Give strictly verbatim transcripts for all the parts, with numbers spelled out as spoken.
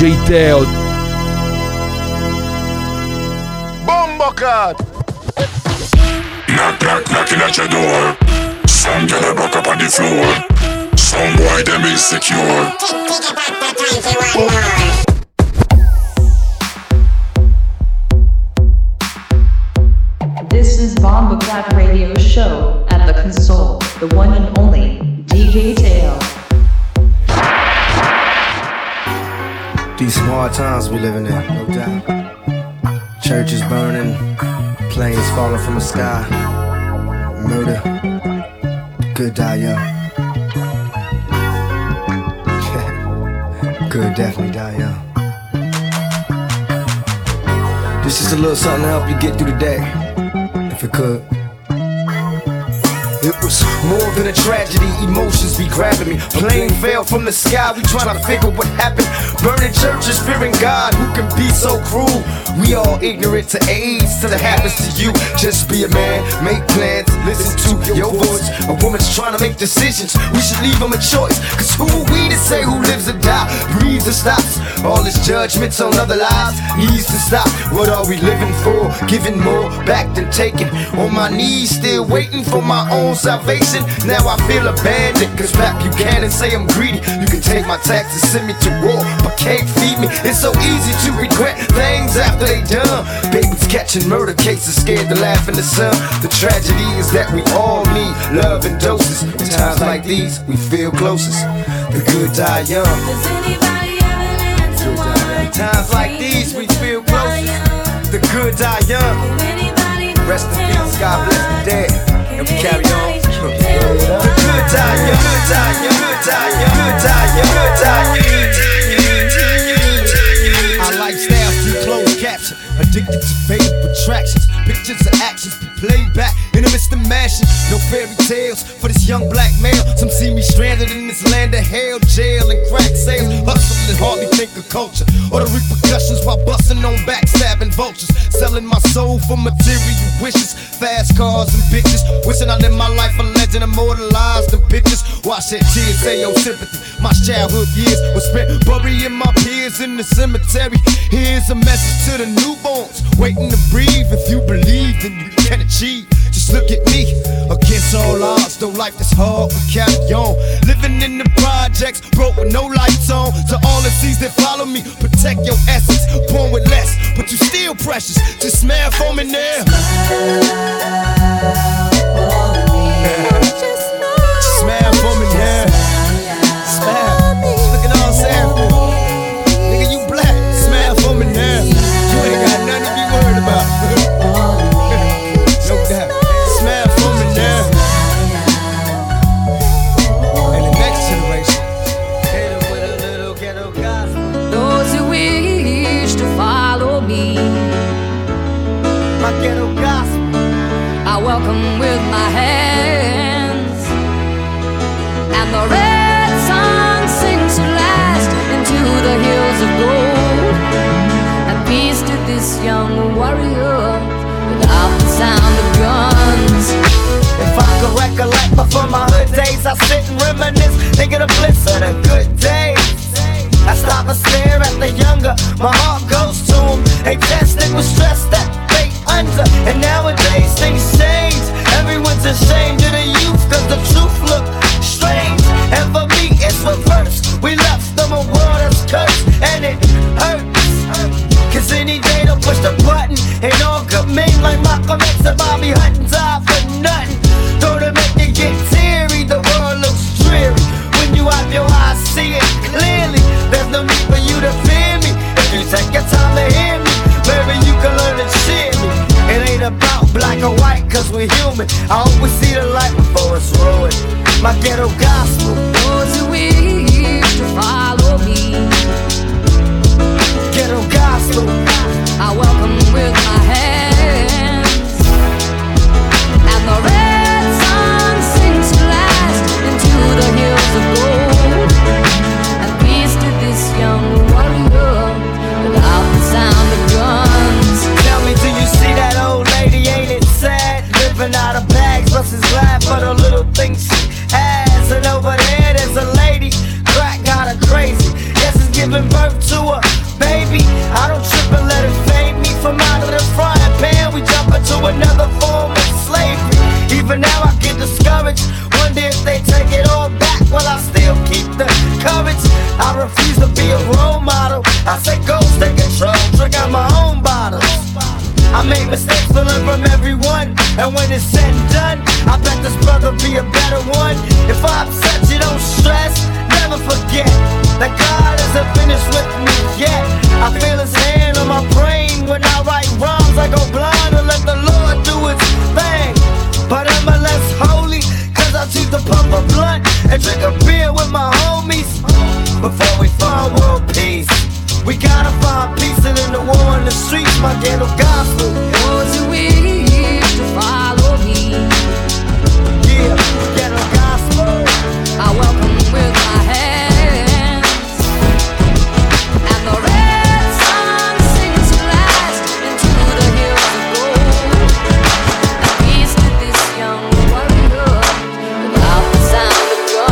J Teo. Bombocat. Knock, knock, knocking at your door. Some get a buck up on the floor. Some boy them insecure. This is Bombocat Radio Show at the console, the one and only D J Teo. These some hard times we living in, no doubt. Churches burning, planes falling from the sky, murder, good die young. Good definitely die young. This is a little something to help you get through the day, if it could. It was more than a tragedy, emotions be grabbing me. Plane fell from the sky, we tryna figure what happened. Burning churches, fearing God, who can be so cruel? We all ignorant to AIDS till it happens to you. Just be a man, make plans, listen to your voice. A woman's trying to make decisions, we should leave them a choice. Cause who are we to say who lives or die, breathes or stops? All this judgments on other lives needs to stop. What are we living for? Giving more back than taking. On my knees, still waiting for my own salvation. Now I feel abandoned, cause Pat Buchanan say I'm greedy. You can take my taxes, send me to war, but can't feed me. It's so easy to regret things after they done. Babies catching murder cases, scared to laugh in the sun. The tragedy is that we all need love and doses. In times like these, we feel closest. The good die young. Does anybody have an answer why? In times like these, we feel closest. The good die young. Rest in peace, God bless the dead. And we carry on. The good die young, good die young, good die young, good die young, good die young. Our lifestyles through closed caption, addicted to faded attractions. Pictures of actions be played back in the midst of mashing. No fairy tales for this young black male. Some see me stranded in this land of hell, jail and crack sales. Hustling and hardly think of culture or the repercussions while busting on backstabbing vultures. Selling my soul for material wishes, fast cars and bitches. Wishing I lived my life a legend, immortalized in pictures. Watch that tears say your sympathy. My childhood years were spent burying my peers in the cemetery. Here's a message to the newborns waiting to breathe. If you believe, then you can achieve. Just look at me, against all odds. Though life is hard, we carry on. Living in the projects, broke with no lights on. To all the seas that follow me, protect your essence. Born with less, but you still precious. Just smile for me now. Smile for me now. Smile. Look at all Sam. Nigga, you black. Smile for me now. You ain't got nothing to be worried about. No doubt. Smile for me now. And the next generation, hit them with a little ghetto gospel. Those who wish to follow me, My ghetto gospel. I welcome with my hands. And the red sun sings to last into the hills of gold. And peace to this young warrior without the sound of guns. If I could recollect before my hood days, I sit and reminisce, thinking of bliss of the good days. I stop and stare at the younger, my heart goes to them. They tested with stress that they under. And nowadays things change, everyone's ashamed of the youth, cause the truth look strange. And for me it's reverse, we left them a world that's cursed, and it hurts. Cause any day they'll push the button, and all good men like Malcolm X and Bobby Hutton die for nothing. Though to make you get teary, the world looks dreary. When you have your eyes see it clearly, there's no need for you to fear me. If you take your time to hear me, maybe you can learn to cheer me. It ain't about black or white, cause we're human. I always see the light before it's ruined. My ghetto gospel. Those who wish to follow me, Ghetto gospel. I welcome with my hands. And the red sun sings to last into the hills of gold. And peace to this young warrior without the sound of guns. Tell me, do you see that old lady? Ain't it sad? Living out of bags, buses laugh for the little things she has. And over there, there's a lady, crack got her crazy. Yes, it's giving birth to a And when it's said and done, I bet this brother be a better one. If I upset you, don't stress, never forget that God isn't finished with me yet. I feel his hand on my brain when I write rhymes. I go blind and let the Lord do his thing. But am I less holy? Cause I choose to pump a blunt and drink a beer with my homies. Before we find world peace, we gotta find peace, and in the war in the streets, my ghetto gospel. Those who wish to follow me, yeah, ghetto gospel. I welcome with my hands, and the red sun sings to last into the hills of gold. And peace to this young warrior without the sound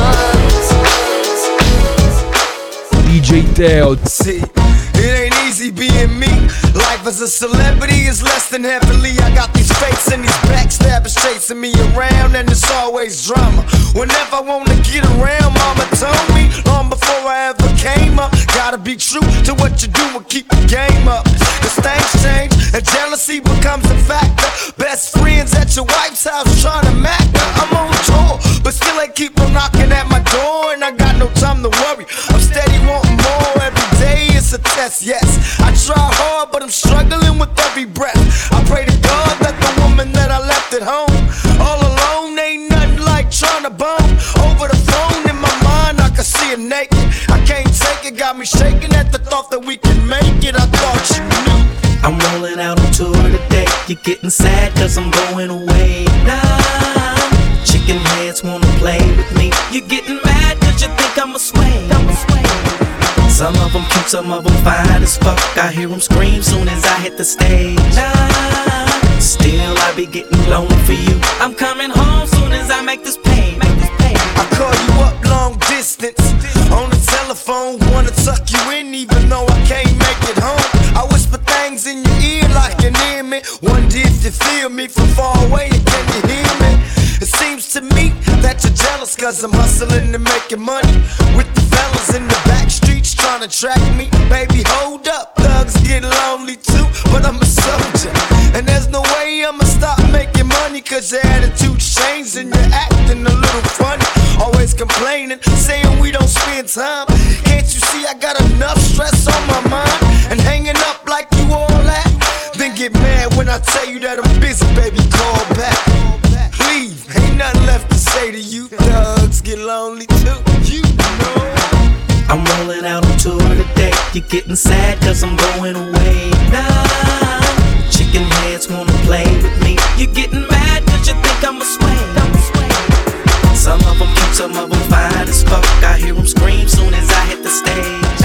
of guns. D J Teo. See, it ain't easy being me. Life as a celebrity is less than heavily. I got these fakes and these backstabbers chasing me around, and it's always drama. Whenever I wanna get around, mama told me long before I ever came up, gotta be true to what you do and keep the game up. Cause things change and jealousy becomes a factor. Best friends at your wife's house trying to mac her. I'm on tour, but still they keep on knocking at my door, and I got no time to worry. I'm steady wanting more every day. It's a test, yes. I try hard, but I'm struggling with every breath. I pray to God that the woman that I left at home all alone ain't nothing like trying to bone over the phone. In my mind, I can see her naked. I can't take it, got me shaking at the thought that we can make it. I thought you knew. I'm rolling out on tour today. You're getting sad cause I'm going away now. Chicken heads wanna play with me. You're getting mad cause you think I'm a sway. I'm a sway. Some of them cute, some of them fine as fuck. I hear them scream soon as I hit the stage. Nah, still I be getting lonely for you. I'm coming home soon as I make this pay. Make this pay. I call you up long distance on the telephone, wanna tuck you in even though I can't make it home. I whisper things in your ear like you near me. Wonder if you feel me from far away and can you hear me? It seems to me that you're jealous cause I'm hustling and making money with the fellas in the back streets trying to track me. Baby, hold up, thugs get lonely too, but I'm a soldier, and there's no way I'ma stop making money cause your attitude's changed and you're acting a little funny. Always complaining, saying we don't spend time. Can't you see I got enough stress on my mind? And hanging up like you all that? Then get mad when I tell you that I'm busy, baby, call back. Leave, ain't nothing left to say to you. Thugs get lonely too, you know. I'm rolling out on tour today. You're getting sad cause I'm going away now. Chicken heads wanna play with me. You're getting mad cause you think I'm a sway. I'm a sway. Some of them cute, some of them fine as fuck. I hear them scream soon as I hit the stage.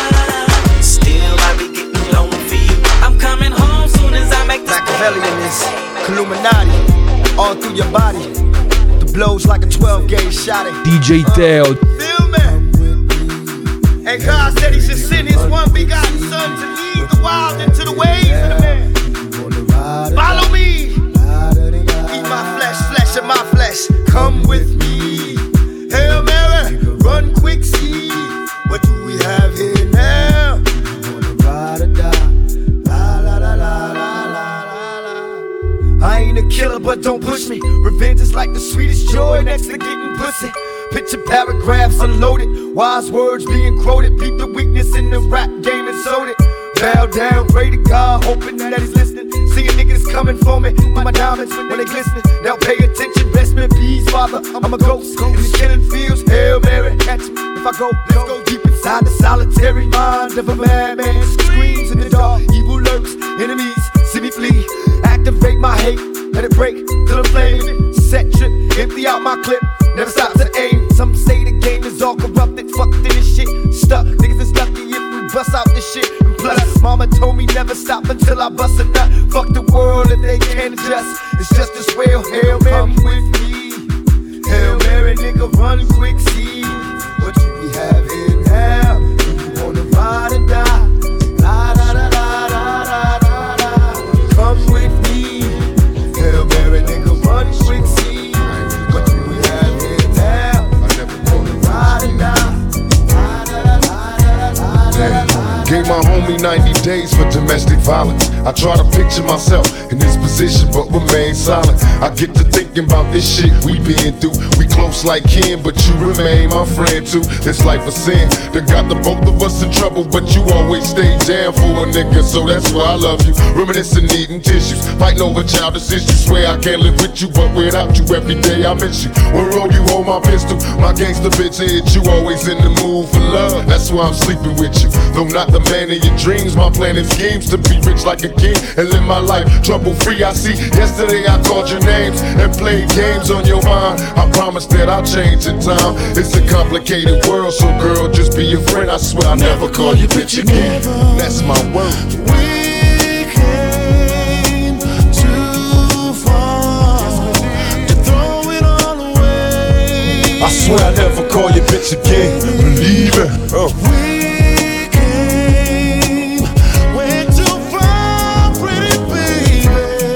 Ah, still I be getting lonely for you. I'm coming home soon as I make this Machiavellian is Illuminati all through your body. The blows like a twelve gauge shot at D J Teo. Feel me? And God said he should send his one begotten son to lead the wild into the ways of the man. Follow me. Eat my flesh, flesh of my flesh. Come with me. Hail Mary, run quick, see. What do we have here now? Ride or die. La la la la la la la. I ain't a killer, but don't push me. Revenge is like the sweetest joy next to getting pussy. Picture paragraphs unloaded, wise words being quoted. Peep the weakness in the rap game and sold it. Bow down, pray to God, hoping that he's listening. Seeing niggas coming for me, my diamonds when they glistening. Now pay attention, rest in peace, Father. I'm a ghost in these killing fields. Hail Mary, catch me if I go. Let's go deep inside the solitary mind of a madman. Screams in the dark, evil lurks, enemies see me flee. Activate my hate, let it break till I'm flaming. Set trip, empty out my clip. Never stop to aim. Some say the game is all corrupted, fucked in this shit. Stuck, niggas is lucky if we bust out this shit. And plus, mama told me never stop until I bust a nut. Fuck the world if they can't adjust. It's just as well. Hail Mary, come with me. Hail Mary, nigga, run quick, see. What do we have here now? You wanna ride or die? La da da da da da da da. Come with me. Hail Mary, nigga, run quick, see. Gave my homie ninety days for domestic violence. I try to picture myself in this position, but remain silent. I get to thinking about this shit we been through. We close like kin, but you remain my friend too. This life a sin that got the both of us in trouble, but you always stay down for a nigga, so that's why I love you. Reminiscing, needing tissues, fighting over childish issues. Swear I can't live with you, but without you every day I miss you. When roll you hold my pistol, my gangster bitch hit you. Always in the mood for love, that's why I'm sleeping with you. Though not the man of your dreams, my plan and schemes to be rich like a king and live my life trouble free. I see yesterday I called your names and played games on your mind. I promise that I'll change in time. It's a complicated world, so girl, just be a friend. I swear I'll never call you bitch again. That's my word. We came too far to throw it all away. I swear I'll never call you bitch again. Believe it. Oh. We came way too far, pretty baby.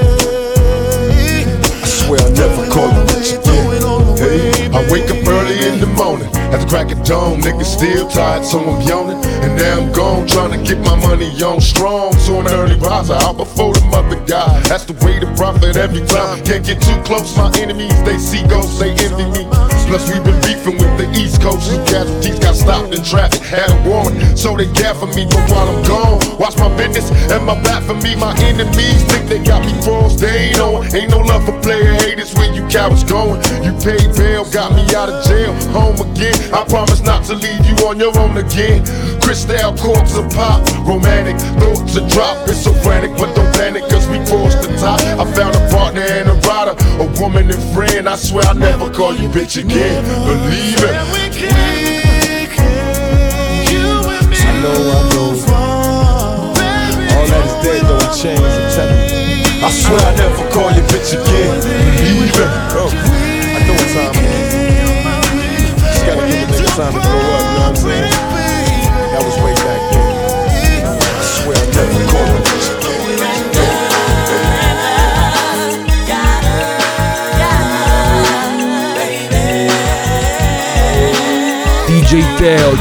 I swear I'll never call you bitch again. Hey, I wake up early in the morning at the crack of dawn. Niggas still tired, so I'm yawning. And now I'm gone, trying to get my money on strong. So an early riser, out before the mother guy. That's the way to profit every time. Can't get too close, my enemies, they see ghosts, they envy me. Plus we've been beefing with the East Coast. These casualties got stopped in traffic, had a warrant, so they gat for me. But while I'm gone, watch my business and my back for me. My enemies think they got me froze, they ain't on. Ain't no love for player haters where you cowards going. You paid bail, got me out of jail, home again. I promise not to leave you on your own again. Crystal corks a pop, romantic thoughts a drop. It's so frantic, but don't panic, cause we crossed the top. I found a partner and a rider, a woman and friend. I swear I'll never call you bitch again. Believe it. I know, I know. All that is dead, though it changed. I'm telling you. I swear I'll never call you bitch again. Believe it. Oh. I know what time it is. Just gotta give a nigga time to grow up, you know what I'm saying? That was way back then. I swear I'll never call you bitch again. D J Teo.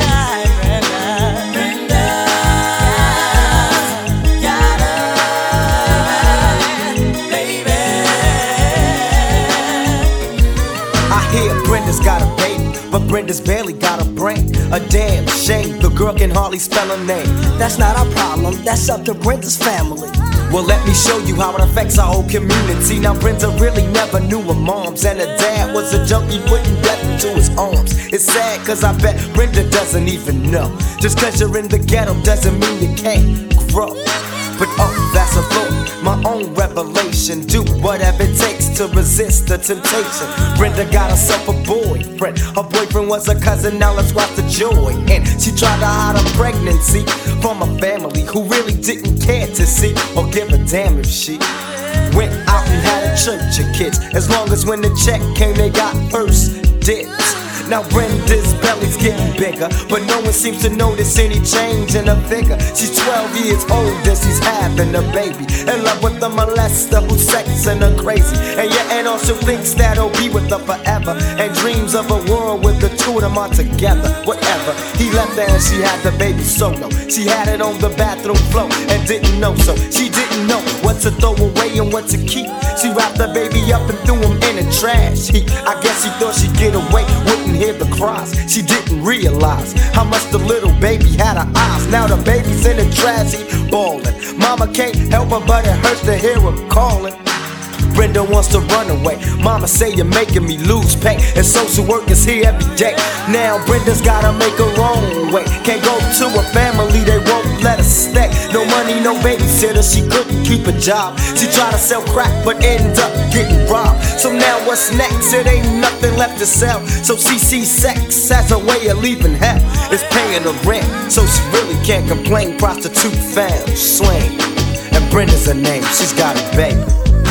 I hear Brenda's got a baby, but Brenda's barely got a brain. A damn shame, the girl can hardly spell her name. That's not our problem, that's up to Brenda's family. Well, let me show you how it affects our whole community. Now, Brenda really never knew her moms, and her dad was a junkie putting death into his arms. It's sad, cause I bet Brenda doesn't even know. Just cause you're in the ghetto doesn't mean you can't grow. But oh, that's a thought, my own revelation. Do whatever it takes to resist the temptation. Brenda got herself a boyfriend. Her boyfriend was a cousin, now let's watch the joy. And she tried to hide her pregnancy from a family who really didn't care to see or give a damn if she went out and had a church of kids. As long as when the check came, they got first dibs. Now Brenda's belly's getting bigger, but no one seems to notice any change in her figure. She's twelve years old and she's having a baby, in love with a molester who's sexing her crazy. And your aunt also thinks that he'll be with her forever, and dreams of a world with the two of them are together. Whatever, he left her and she had the baby solo. She had it on the bathroom floor and didn't know, so she didn't know what to throw away and what to keep. She wrapped the baby up and threw him in a trash heap. I guess she thought she'd get away, wouldn't hear the cries. She didn't realize how much the little baby had her eyes. Now the baby's in the trash heap, bawling. Mama can't help her, but it hurts to hear her calling. Brenda wants to run away. Mama say you're making me lose pay, and social work is here every day. Now Brenda's gotta make her own way. Can't go to a family, they won't let her stay. No money, no babysitter, she couldn't keep a job. She tried to sell crack, but ended up getting robbed. So now what's next? It ain't nothing left to sell. So she sees sex as a way of leaving hell. It's paying the rent, so she really can't complain. Prostitute found, slang, and Brenda's her name. She's got a baby.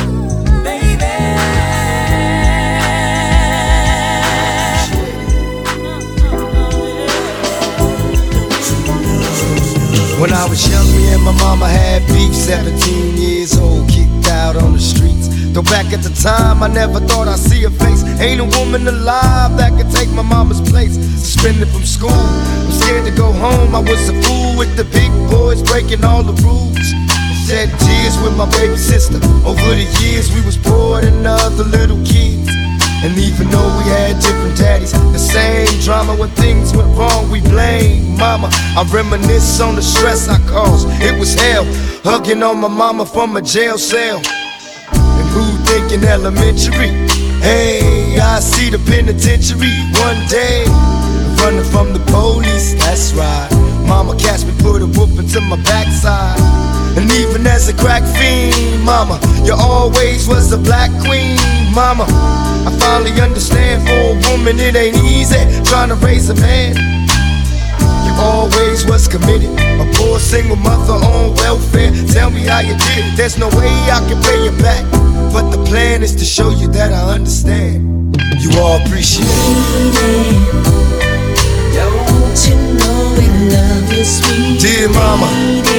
When I was young, me and my mama had beef. Seventeen years old, kicked out on the streets. Though back at the time, I never thought I'd see her face. Ain't a woman alive that could take my mama's place. Suspended from school, I'm scared to go home. I was a fool with the big boys breaking all the rules. shed tears with my baby sister. Over the years we was poor than other little kids. And even though we had different daddies, the same drama when things went wrong, we blame mama. I reminisce on the stress I caused, it was hell. Hugging on my mama from a jail cell. And who thinking elementary? Hey, I see the penitentiary one day. Running from the police, that's right. Mama catch me, put a whooping to my backside. And even as a crack fiend, mama, you always was a black queen, mama. I finally understand, for a woman it ain't easy trying to raise a man. You always was committed, a poor single mother on welfare. Tell me how you did it, there's no way I can pay you back. But the plan is to show you that I understand. You all appreciate it. Don't you know we love you, sweet dear mama.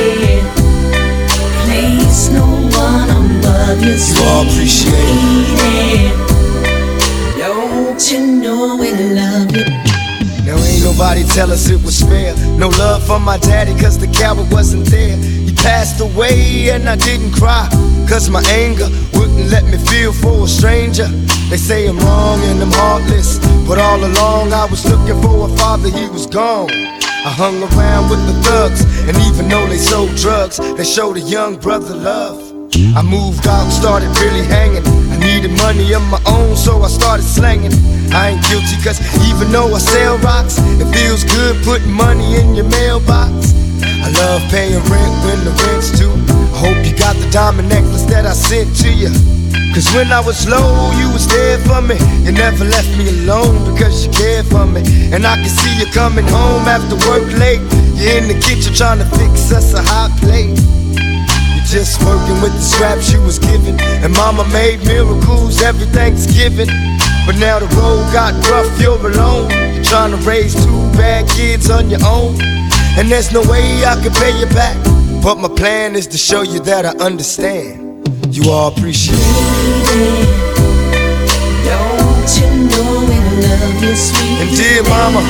Place no one above you, sweet. You all appreciate it. Don't you know we love you? Now ain't nobody tell us it was fair. No love for my daddy cause the coward wasn't there. He passed away and I didn't cry, cause my anger wouldn't let me feel for a stranger. They say I'm wrong and I'm heartless, but all along I was looking for a father, he was gone. I hung around with the thugs, and even though they sold drugs, they showed a young brother love. I moved out, started really hanging. I needed money of my own, so I started slanging. I ain't guilty cause even though I sell rocks, it feels good putting money in your mailbox. I love paying rent when the rent's due. I hope you got the diamond necklace that I sent to you. Cause when I was low, you was there for me. You never left me alone because you cared for me. And I can see you coming home after work late. You're in the kitchen trying to fix us a hot plate. You're just working with the scraps you was given. And mama made miracles every Thanksgiving. But now the road got rough, you're alone. You're trying to raise two bad kids on your own. And there's no way I can pay you back. But my plan is to show you that I understand. You all appreciate it. Don't you know we love you, sweet and dear mama.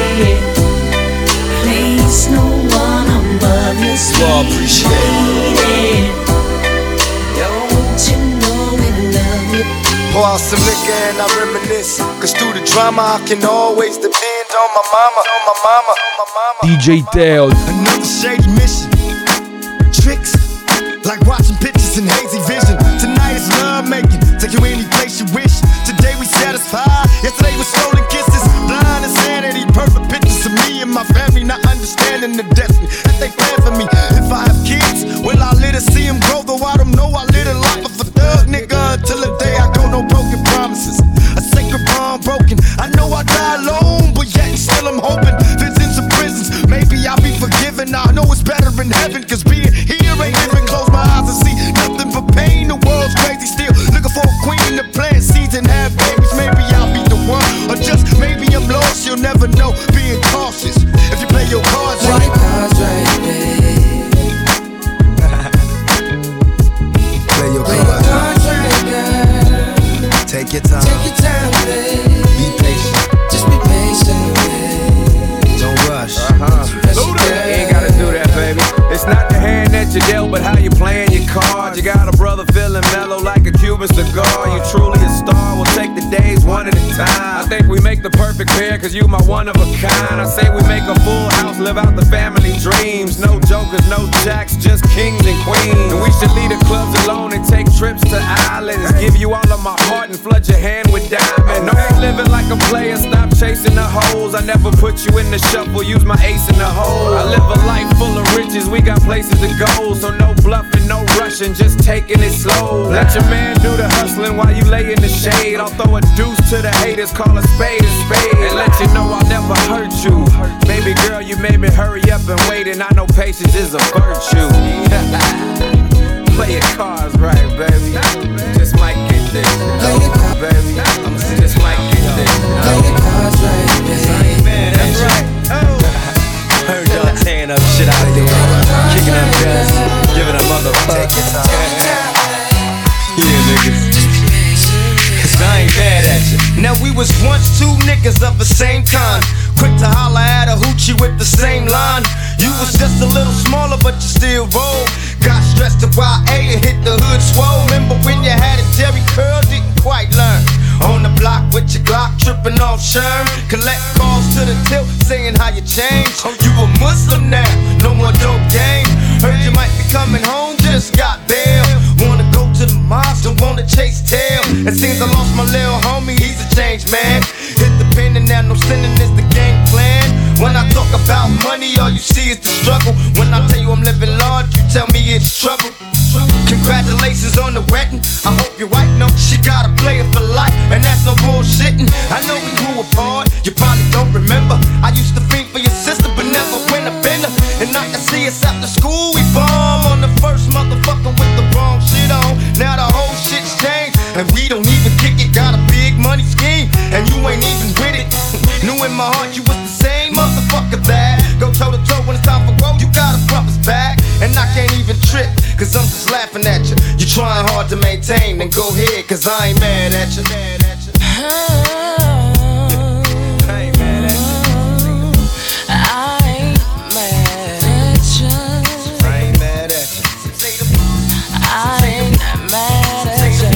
Place no one above you, sweet. You all appreciate it. Don't you know we love you? Pour out some liquor and I reminisce. Cause through the drama I can always depend on my mama, on my mama, on my mama. D J Teo. Another shady mission. Tricks like watching pictures in hazy vision. Tonight is love making, take you any place you wish. Today we satisfied, yesterday was stolen kisses. Blind insanity, perfect pictures of me and my family, not understanding the destiny that they plan for me. If I have kids, will I let her see them grow? Though I don't know, I live a life of a thug nigga until the day I go. No broken promises, a sacred bond broken. I know I die alone, but yet still I'm hoping visits of prisons, maybe I'll be forgiven. I know it's better in heaven, cause being here ain't living. Close my eyes and see nothing but pain. The world's crazy still, looking for a queen to plant seeds and have babies. Maybe I'll be the one, or just maybe I'm lost. You'll never know, being cautious. If you play your cards right, play cards right, babe. Play your play cards right, girl. Take your time, take your time, babe. Be patient, just be patient, babe. Don't rush. Uh-huh. You ain't gotta do that, baby. It's not the hand that you dealt, but how you playing your cards. You got a brother feeling mellow like a Cuban cigar. You truly a star, we'll take the days one at a time. I think we make the perfect pair, cause you my one of a kind. I say we make a full house, live out the family dreams. No jokers, no jacks, just kings and queens. And we should leave the clubs alone and take trips to islands. Give you all of my heart and flood your hand with diamonds. No more living like a player, stop chasing the hoes. I never put you in the shuffle, use my ace in the hole. I live a life full of riches, we got places to go. So no bluffing, no rushing, just taking it slow. Let your man do the hustling while you lay in the shade. I'll throw a deuce to the haters, call a spade a spade. And let you know I'll never hurt you. Baby girl, you made me hurry up and wait, and I know patience is a virtue. Play your cards right, baby. Just might get this, baby. Just might get this. Play your cards right, baby. Man, that's right. Oh. Heard y'all tearing up shit out there, kicking up dust, giving a motherfucker. Yeah, niggas. Cause I ain't mad at you. Now we was once two niggas of the same kind, quick to holler at a hoochie with the same line. You was just a little smaller, but you still roll. Got stressed to Y A and hit the hood swole. Remember when you had a Jerry curl, didn't quite learn. On the block with your Glock, tripping off Sherm. Collect calls to the tilt, saying how you changed. Oh, you a Muslim now, no more dope game. Heard you might be coming home, just got bail. Wanna go to the mosque, don't wanna chase tail. It seems I lost my little homie, he's a changed man. Hit the pen and now no sinning is the game plan. When I talk about money, all you see is the struggle. When I tell you I'm living large, you tell me it's trouble. Congratulations on the wedding. I hope your wife knows she got a player for life, and that's no bullshitting. I know we grew apart, you probably don't remember. I used to think for your sister, but never win a bender. And I can see us after school, we bomb on the first motherfucker with the wrong shit on. Now the whole shit's changed, and we don't even kick it. Got a big money scheme, and you ain't even with it. Knew in my heart you was the same motherfucker that go toe to toe when it's time for growth. You got a brother's back, and I can't even trip, cause I'm just laughing at you. You trying hard to maintain, then go ahead, cause I ain't mad at you. Mad at you. I ain't mad at you. I ain't mad at you. I ain't mad at you. I ain't mad at you.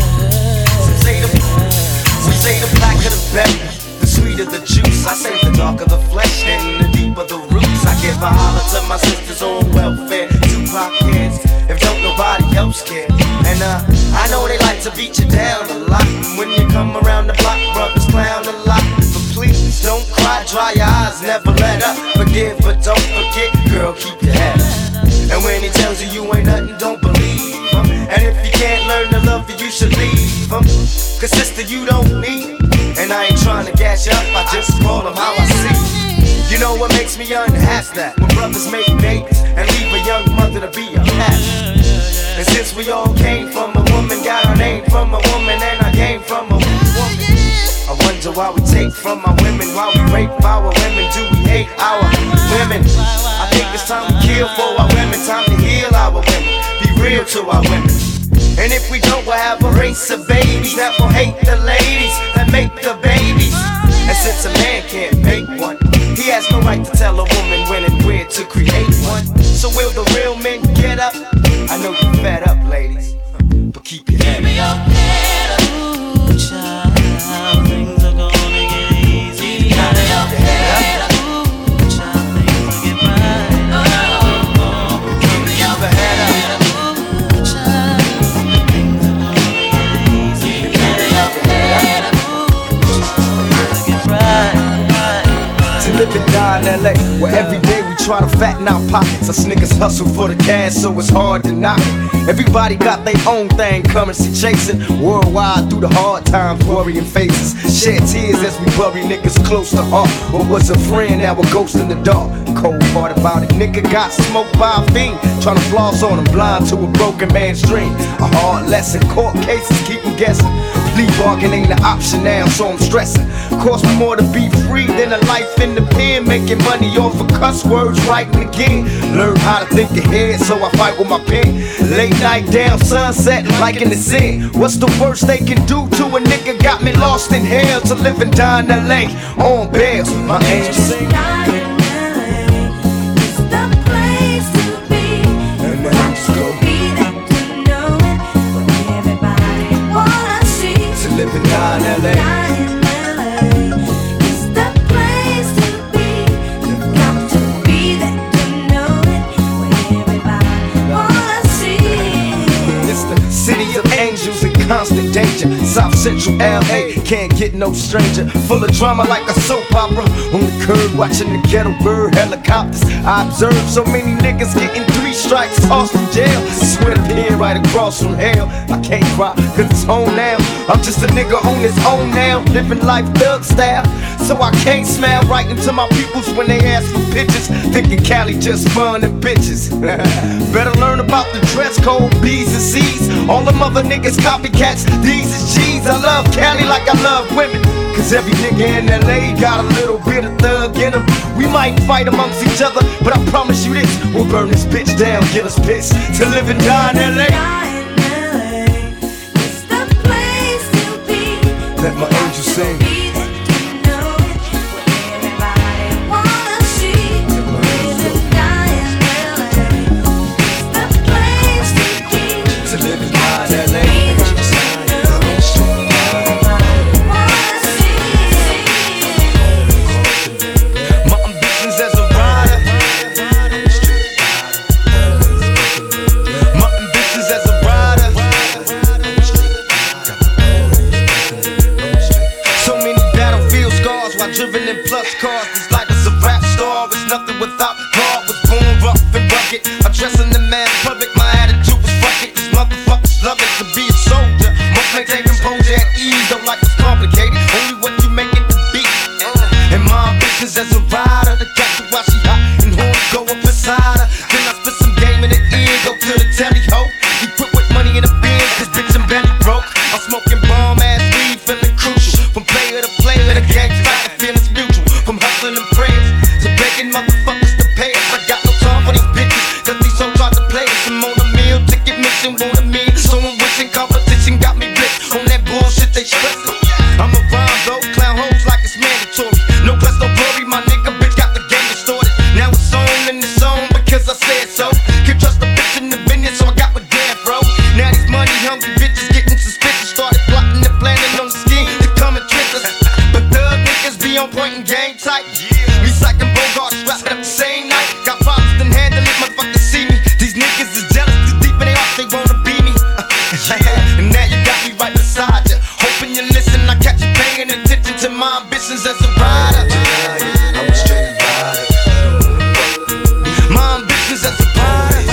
We say the blacker the better, the sweeter the juice. I say the darker the flesh and the deeper the roots. I give a holler to my sisters on welfare, Tupac kids, if don't nobody else care. And uh, I know they like to beat you down a lot. And when you come around the block, brothers clown a lot. But please don't cry, dry your eyes, never let up. Forgive but don't forget, girl, keep your head up. And when he tells you you ain't nothing, don't believe him. And if you can't learn to love you, you should leave him. Cause sister, you don't need him. And I ain't trying to gas you up, I just call him how I see. You know what makes me unhappy? That when brothers make babies and leave a young mother to be unhappy. And since we all came from a woman, got our name from a woman, and I came from a woman, I wonder why we take from our women, why we rape our women, do we hate our women? I think it's time to kill for our women, time to heal our women, be real to our women. And if we don't, we'll have a race of babies that will hate the ladies that make the babies. And since a man can't make one, he has no right to tell a woman when and where to create one. So will the real men get up? I know you're fed up, ladies, but keep your head up. Ooh, child, things are gonna get easy. Keep your head up. Ooh, child, things will get right. Oh, oh, keep your head up. Ooh, child, things are gonna get easy. Keep your head up. Ooh, child, things will get right. To live and die in L A, where every day we try to fatten our pockets. Us niggas hustle for the cash, so it's hard to knock it. Everybody got their own thing, currency chasing. Worldwide through the hard times, worrying faces. Shed tears as we bury niggas close to heart. What was a friend, now a ghost in the dark. Cold part about it, nigga got smoked by a fiend. Trying to floss on him, blind to a broken man's dream. A hard lesson, court cases keep him guessing. Plea bargain ain't an option now, so I'm stressing. Cost me more to be free than a life in the pen. Making money off of cuss words, writing again. Learn how to think ahead, so I fight with my pen. Late night down, sunset, like in the sin. What's the worst they can do to a nigga? Got me lost in hell to live and die in L A on bail. My angel sing. Live and die in L A. It's the place to be. You've got to be there to know it. Where everybody wanna see. It's the city of angels in constant danger. South Central L A can't get no stranger. Full of drama like a soap opera. On the curb watching the ghetto bird helicopters. I observe so many niggas getting three strikes, tossed from jail. Swear to pin right across from hell. I can't cry cause it's home now. I'm just a nigga on his own now, living life thug style. So I can't smile right into my peoples when they ask for pictures, thinking Cali just fun and bitches. Better learn about the dress code, B's and C's. All them other niggas copycats, these is G's. I love Cali like I love women, cause every nigga in L A got a little bit of thug in him. We might fight amongst each other, but I promise you this, we'll burn this bitch down, get us pissed to live and die in L A. Let my angel sing. sports cars. These life is a rap star. It's nothing without God. Was born rough and rugged. Addressing the man public. My attitude was fuck it. These motherfuckers love it to be a soldier. Must maintain composure at ease. Don't like it's complicated. Only what you make it to be. And my ambitions as a rider. The cat to while she hot and horns go up inside her. Then I spit some game in the ear. Go to the telly ho. He put with money in the bin. This bitch I'm belly broke. I'm smoking bomb ass weed, feeling crucial. From player to player, the gang's fight, the feeling's mutual. From hustling and prayers to begging motherfuckers to pay us. I got no time for these bitches, cause these hoes try to play us. I'm on a meal, ticket mission, want a meal. Someone wishing competition got me blitzed. On that bullshit they stressing. I'm a rhyme though, clown hoes like it's mandatory. No plus no glory, my nigga bitch got the game distorted. Now it's on and it's on because I said so. Can't trust the bitch in the business, so I got my damn bro. Now these money hungry bitches getting suspicious. Started plotting and planning on the scheme to come and trick us. But thug niggas be on point and game tight. Recycling Bogart, wrapped up the same night. Got problems, then handle it, motherfuckers see me. These niggas is jealous, too deep in their hearts, they wanna be me. And now you got me right beside you. Hoping you listen, I catch you paying attention to my ambitions as a rider. I'm a straight rider. My ambitions as a rider.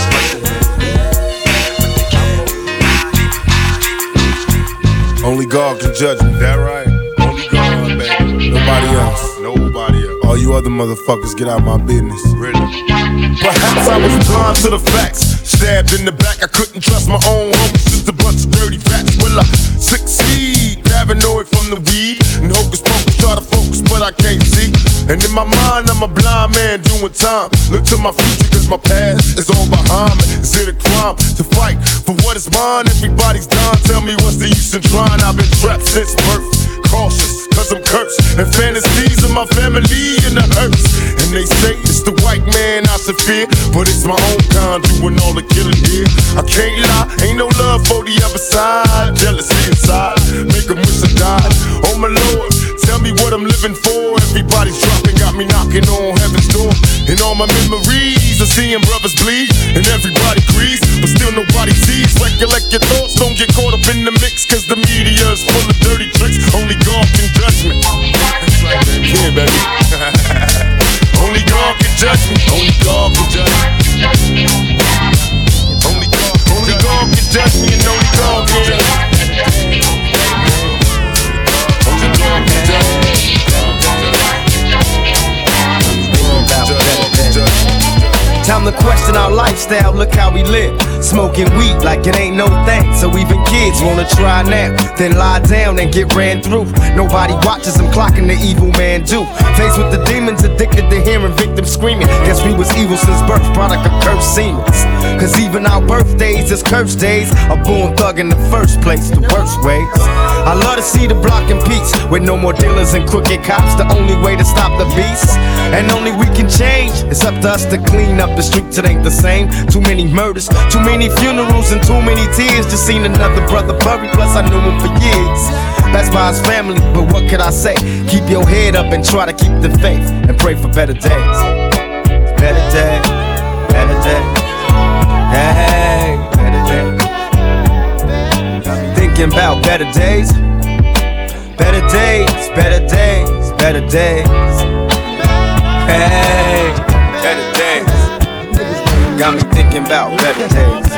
Only God can judge me. That right? Only God, baby. Nobody else. Nobody else. All you other motherfuckers, get out my business. Really? Perhaps I was blind to the facts. Stabbed in the back, I couldn't trust my own homies. Just a bunch of dirty rats. Will I succeed? Paranoid from the weed. And hocus pocus, try to focus, but I can't see. And in my mind, I'm a blind man doing time. Look to my future, cause my past is all behind me. Is it a crime to fight for what is mine? Everybody's dying, tell me what's the use in trying? I've been trapped since birth. Cautious, cause I'm cursed. And fantasies of my family and the hurts. And they say it's the white man I should fear, but it's my own kind doing all the killing here. I can't lie, ain't no love for the other side. Jealousy inside, make them wish I died. Oh my Lord, tell me what I'm living for. Everybody's dropping, got me knocking on heaven's door. And all my memories of seeing brothers bleed. And everybody agrees, but still nobody sees. Recollect your thoughts, don't get caught up in the mix. Cause the media is full of dirty tricks. Only God can judge me. Yeah, baby. Only God can judge me. Only God can judge me. Only God, only God can judge me, and only God can judge me. Only God can judge me. Time to question our lifestyle, look how we live. Smoking weed like it ain't no thing. So even kids wanna try now, then lie down and get ran through. Nobody watches them clocking the evil man do. Faced with the demons, addicted to hearing victims screaming. Guess we was evil since birth, product of cursed seemings. Cause even our birthdays is cursed days. A born thug in the first place, the worst ways. I love to see the block in peace, with no more dealers and crooked cops. The only way to stop the beast, and only we can change. It's up to us to clean up the streets, it ain't the same. Too many murders, too many funerals, and too many tears. Just seen another brother buried, plus I knew him for years. That's by his family, but what could I say? Keep your head up and try to keep the faith, and pray for better days. Better days, better days. Hey, better days. Thinking about better days. Better days, better days, better days. Hey, better days. Got me thinking about better days.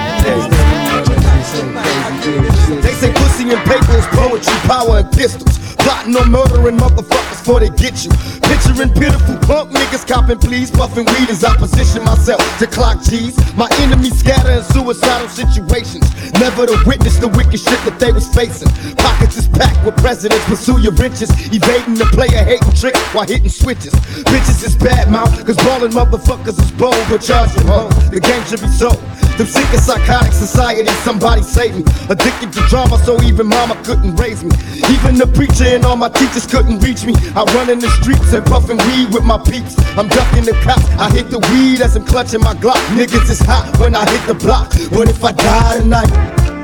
days. They say pussy and paper is poetry, power and pistols. Plotting on murdering motherfuckers before they get you. Picturing pitiful punk niggas copping please, puffing weed as I position myself to clock G's. My enemies scatter in suicidal situations, never to witness the wicked shit that they was facing. Pockets is packed with presidents, pursue your riches, evading the player hating trick while hitting switches. Bitches is bad mouth, cause ballin' motherfuckers is bold, but charge them home, the game should be sold. Them sick and psychotic society, somebody save me. Addicted to drama, so even mama couldn't raise me. Even the preacher and all my teachers couldn't reach me. I run in the streets and puffin' weed with my peeps. I'm ducking the cops, I hit the weed as I'm clutching my Glock. Niggas is hot when I hit the block. What if I die tonight?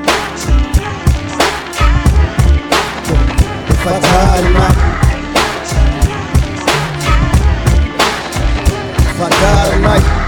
If I die tonight? If I die tonight?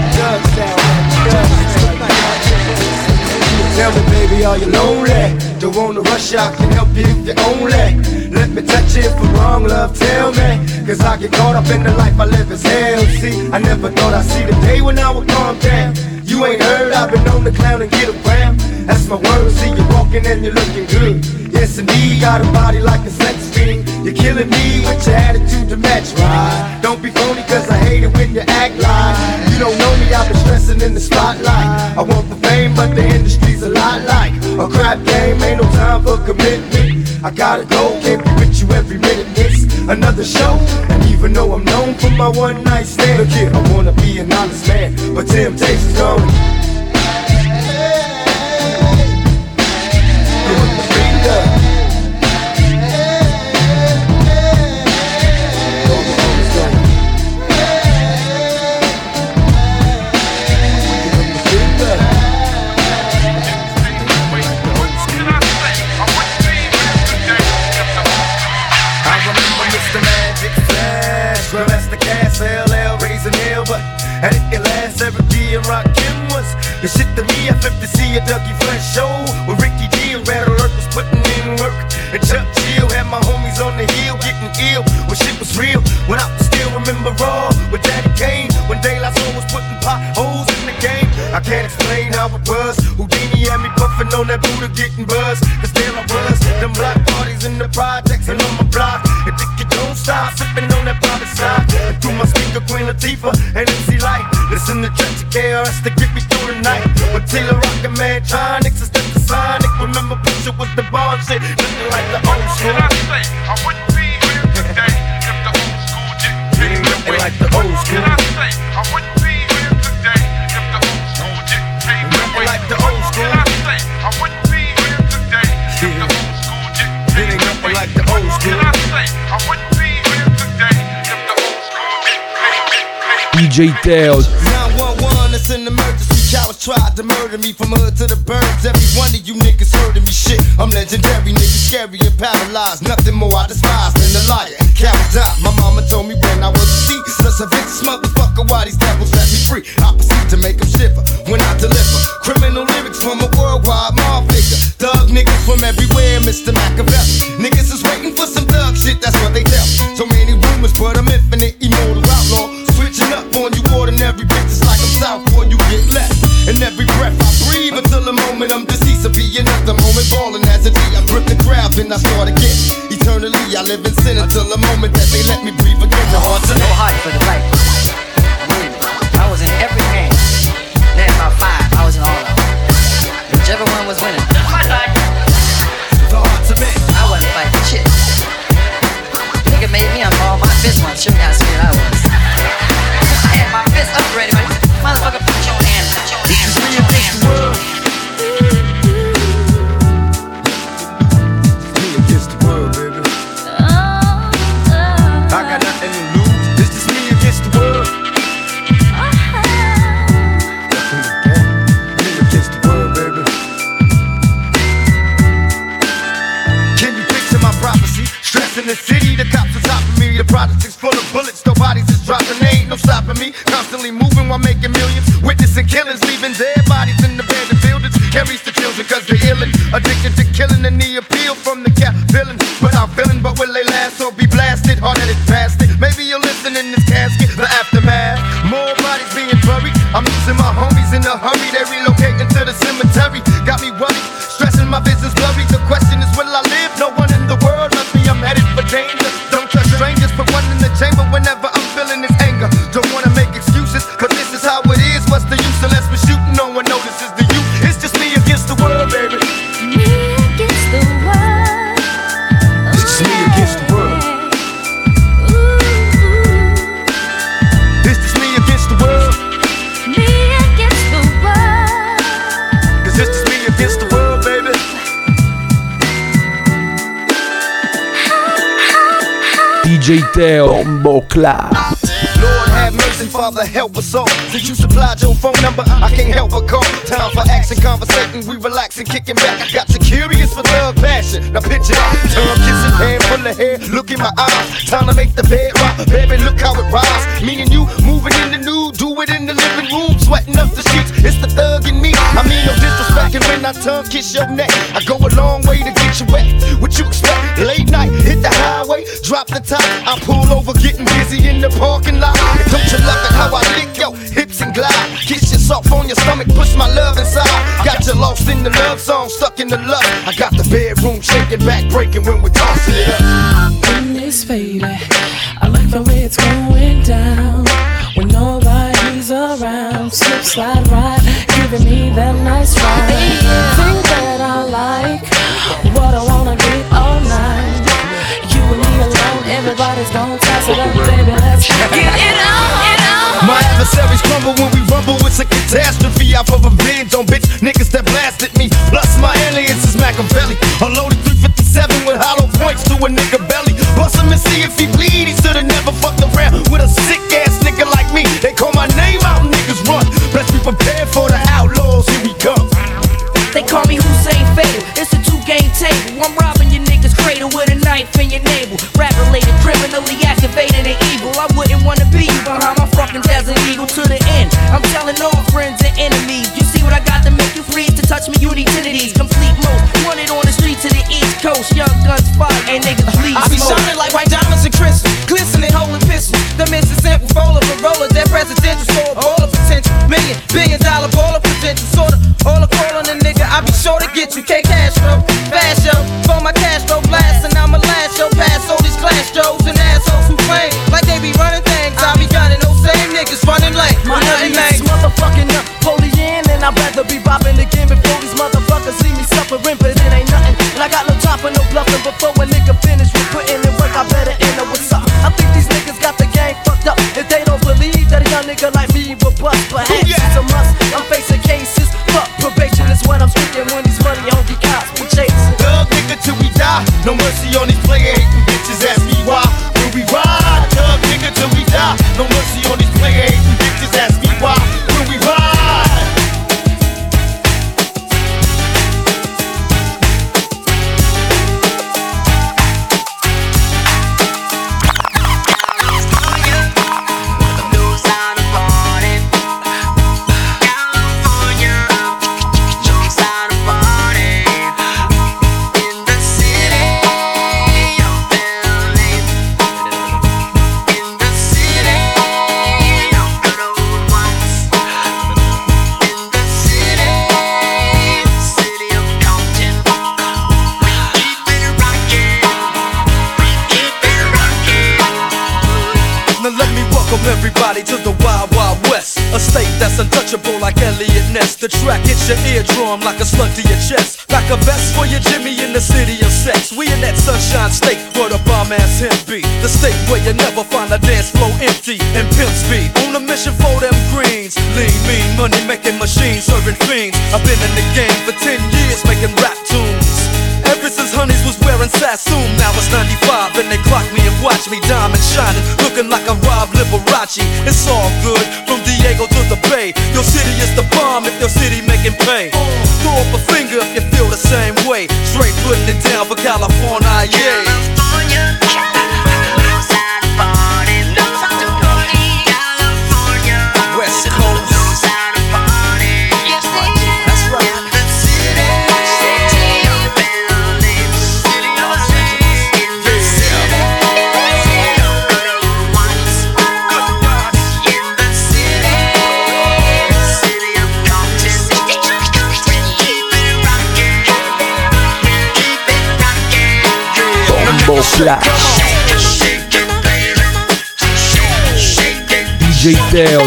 Tell me, baby, are you lonely? The Don't wanna rush, I can help you if you only let me touch you for wrong, love, tell me. Cause I get caught up in the life I live as hell. See, I never thought I'd see the day when I would calm down. You ain't heard, I've been on the clown and get around. That's my word, see you walking and you're looking good. Yes indeed, got a body like a sex fiend. You're killing me with your attitude to match, right? Don't be phony cause I hate it when you act like you don't know me, I've been stressing in the spotlight. I want the fame but the industry's a lot like a crap game, ain't no time for commitment. I gotta go, can't be with you every minute, miss another show. And even though I'm known for my one night stand, look here, I wanna be an honest man, but temptation's gone. And it can last every day and rockin' was the shit to me. I flipped to see a Dougie Fresh show with Ricky D and Red Alert was putting in work. And Chuck Chill had my homies on the hill getting ill when shit was real. When I still remember raw with Daddy Kane when De La Soul was putting potholes in the game. I can't explain how it was. Houdini had me puffin' on that Buddha getting buzzed. Cause there I was, them black parties in the projects and on my block. And think you don't stop sippin' on that private side. And through my speaker, Queen Latifah and M C Light. Listen to Trench K R S to get me through the night. But Taylor Rockin' Mantronics is the Sonic. Remember picture with the bar shit, looking like the old school. I say, I wouldn't be here today if the old school didn't take me away. Like the old school. I say, I wouldn't be here today if the old school didn't take me away. Like the old school. I say, I wouldn't be here today if the old school didn't take me away. Like the old school. I say, I wouldn't be here today if the old school didn't take me away. D J Teo. nine one one, it's an emergency. Cowards tried to murder me from hood to the burbs. Every one of you niggas heard of me. Shit, I'm legendary, niggas scary and paralyzed. Nothing more I despise than a liar. Cowards die. My mama told me when I was a seed. Such a vicious motherfucker, why these devils let me free? I proceed to make them shiver when I deliver criminal lyrics from a worldwide mob figure. Thug niggas from everywhere, Mister Machiavelli. Niggas is waiting for some thug shit, that's what they tell. So many rumors, but I'm infinite, immortal outlaw. Switching up on you ordinary bitches like I'm south boy, you get left. And every breath I breathe until the moment I'm deceased. Will be another moment ballin' as a D. I grip the crowd, then I start again. Eternally, I live in sin until the moment that they let me breathe again. The heart to no heart for the fight. I was in every game. Then about five, I was in all of them. Whichever one was winning. The heart to me. I wasn't fighting shit. Nigga made me unball my fist once. Show me how scared I was. I had my fist up ready. Motherfucker, put your hand, put your hand, put your hand. Me against the world, baby. I got nothing to lose. This is me against the world. Me against the world, baby. Can you picture my prophecy? Stress in the city, the cops on top of me. The project is full of bullets, no bodies is dropping. They ain't no stopping me. Constantly moving while making millions. Witnessing killings, leaving dead bodies in the abandoned buildings. Carries the children cause they're illin'. Addicted to killing and the appeal from the cap villain. Without feeling, but will they last or be blasted? Hard-headed bastard. Maybe you'll listen in this casket, the aftermath. More bodies being buried. I'm losing my homies in a hurry. They relocating to the cemetery. Got me worried, stressing my business blurry. The question is, will I live? No one in the world loves me. I'm headed for danger. Don't trust strangers. Put one in the chamber whenever I'm feeling this anger. Don't wanna make excuses, but this is how it is. What's the use unless we're shooting? No one notices the youth. It's just me against the world, baby. Me against the world. It's just me against the world. It's just me against the world. Me against the world. Cause it's just me against the world, baby. D J Teo, Bombo Clap. Lord have mercy, Father help us all. Since you supplied your phone number, I can't help but call. Time for action, conversating, we relaxing, kicking back. I got you curious for love, passion. Now picture that, tongue kissing, hand full of hair. Look in my eyes, time to make the bed rock. Baby, look how it rise. Me and you moving in the nude, do it in the living room, sweating up the sheets. It's the thug in me. I mean no disrespect, rockin' when I tongue kiss your neck. I go a long way to get you wet. What you expect? Late night, hit the highway, drop the top. I pull over, getting busy in the parking lot. Don't you love it how I lick your hips and glide? Kiss you soft on your stomach, push my love inside. Got you lost in the love song, stuck in the love. I got the bedroom shaking, back breaking when we're tossing it up. When it's faded, I like the way it's going down. When nobody's around, slip, slide, ride, giving me that nice ride. Think that I like what I wanna get all night. You and me alone, everybody's gonna toss it up, baby. Let's get it on, get on. My adversaries crumble when we rumble. It's a catastrophe. I put revenge on bitch niggas that blasted me. Plus my alias is Machiavelli. A loaded three fifty-seven with hollow points to a nigga belly. Bust him and see if he bleed. He should've never fucked around with a sick ass nigga like me. They call my name out, niggas run. Let's be prepared for the outlaws. Here we come. They call me Hussein Fatal. It's a two-game table. I'm robbing your niggas' cradle with a knife in your navel. Rap-related, criminally activated and evil. I wouldn't wanna be you behind my fucking Desert Eagle to the end. I'm telling all friends and enemies. You see what I got to make you freeze? To touch me, you need titties. Complete most. Wanted on the street to the East Coast. Young guns fire and niggas bleed. I be shining like white diamonds and crystals. Glistening, holding pistols. The missing simple roller for roller. That presidential store. All of potential. Million, billion dollar baller potential. Sorta. All a call on a nigga. I be sure to get you K Castro. Fast yo. For my Castro blast. And I'ma last yo. Pass all these class Joes and assholes who claim like they be running things. I be gunning those same niggas running late. My name is motherfucking Napoleon, and I'd rather be bopping again before these motherfuckers see me suffering, but it ain't nothing. And I got no time for no bluffing. Before a nigga finish with putting in work, I better enter what's up. I think these niggas got the game fucked up. If they don't believe that a young nigga like me will bust, perhaps it's a must. I'm facing cases, fuck probation is what I'm speaking when these money hungry cops be chasing. Thug nigga till we die. No mercy on these player hating bitches. Ask me why. Will we ride? Thug nigga till we die. No mercy on these player hating bitches. Ask me why. Will we ride? Everybody to the Wild Wild West, a state that's untouchable like Elliot Ness. The track hits your eardrum like a slug to your chest. Like a vest for your Jimmy in the city of sex. We in that sunshine state where the bomb ass him be. The state where you never find a dance floor empty and pimp speed. On a mission for them greens. Lean, mean, money making machines, serving fiends. I've been in the game for ten years making rap tunes. Ever since Honeys was wearing Sassoon, now it's ninety-five and they clock me and watch me diamond shining, looking like a Rob Liberace. It's all good, from Diego to the Bay. Your city is the bomb if your city making pay. Throw up a finger if you feel the same way. Straight putting it down for California, yeah. West Coast. Flash D J Teo.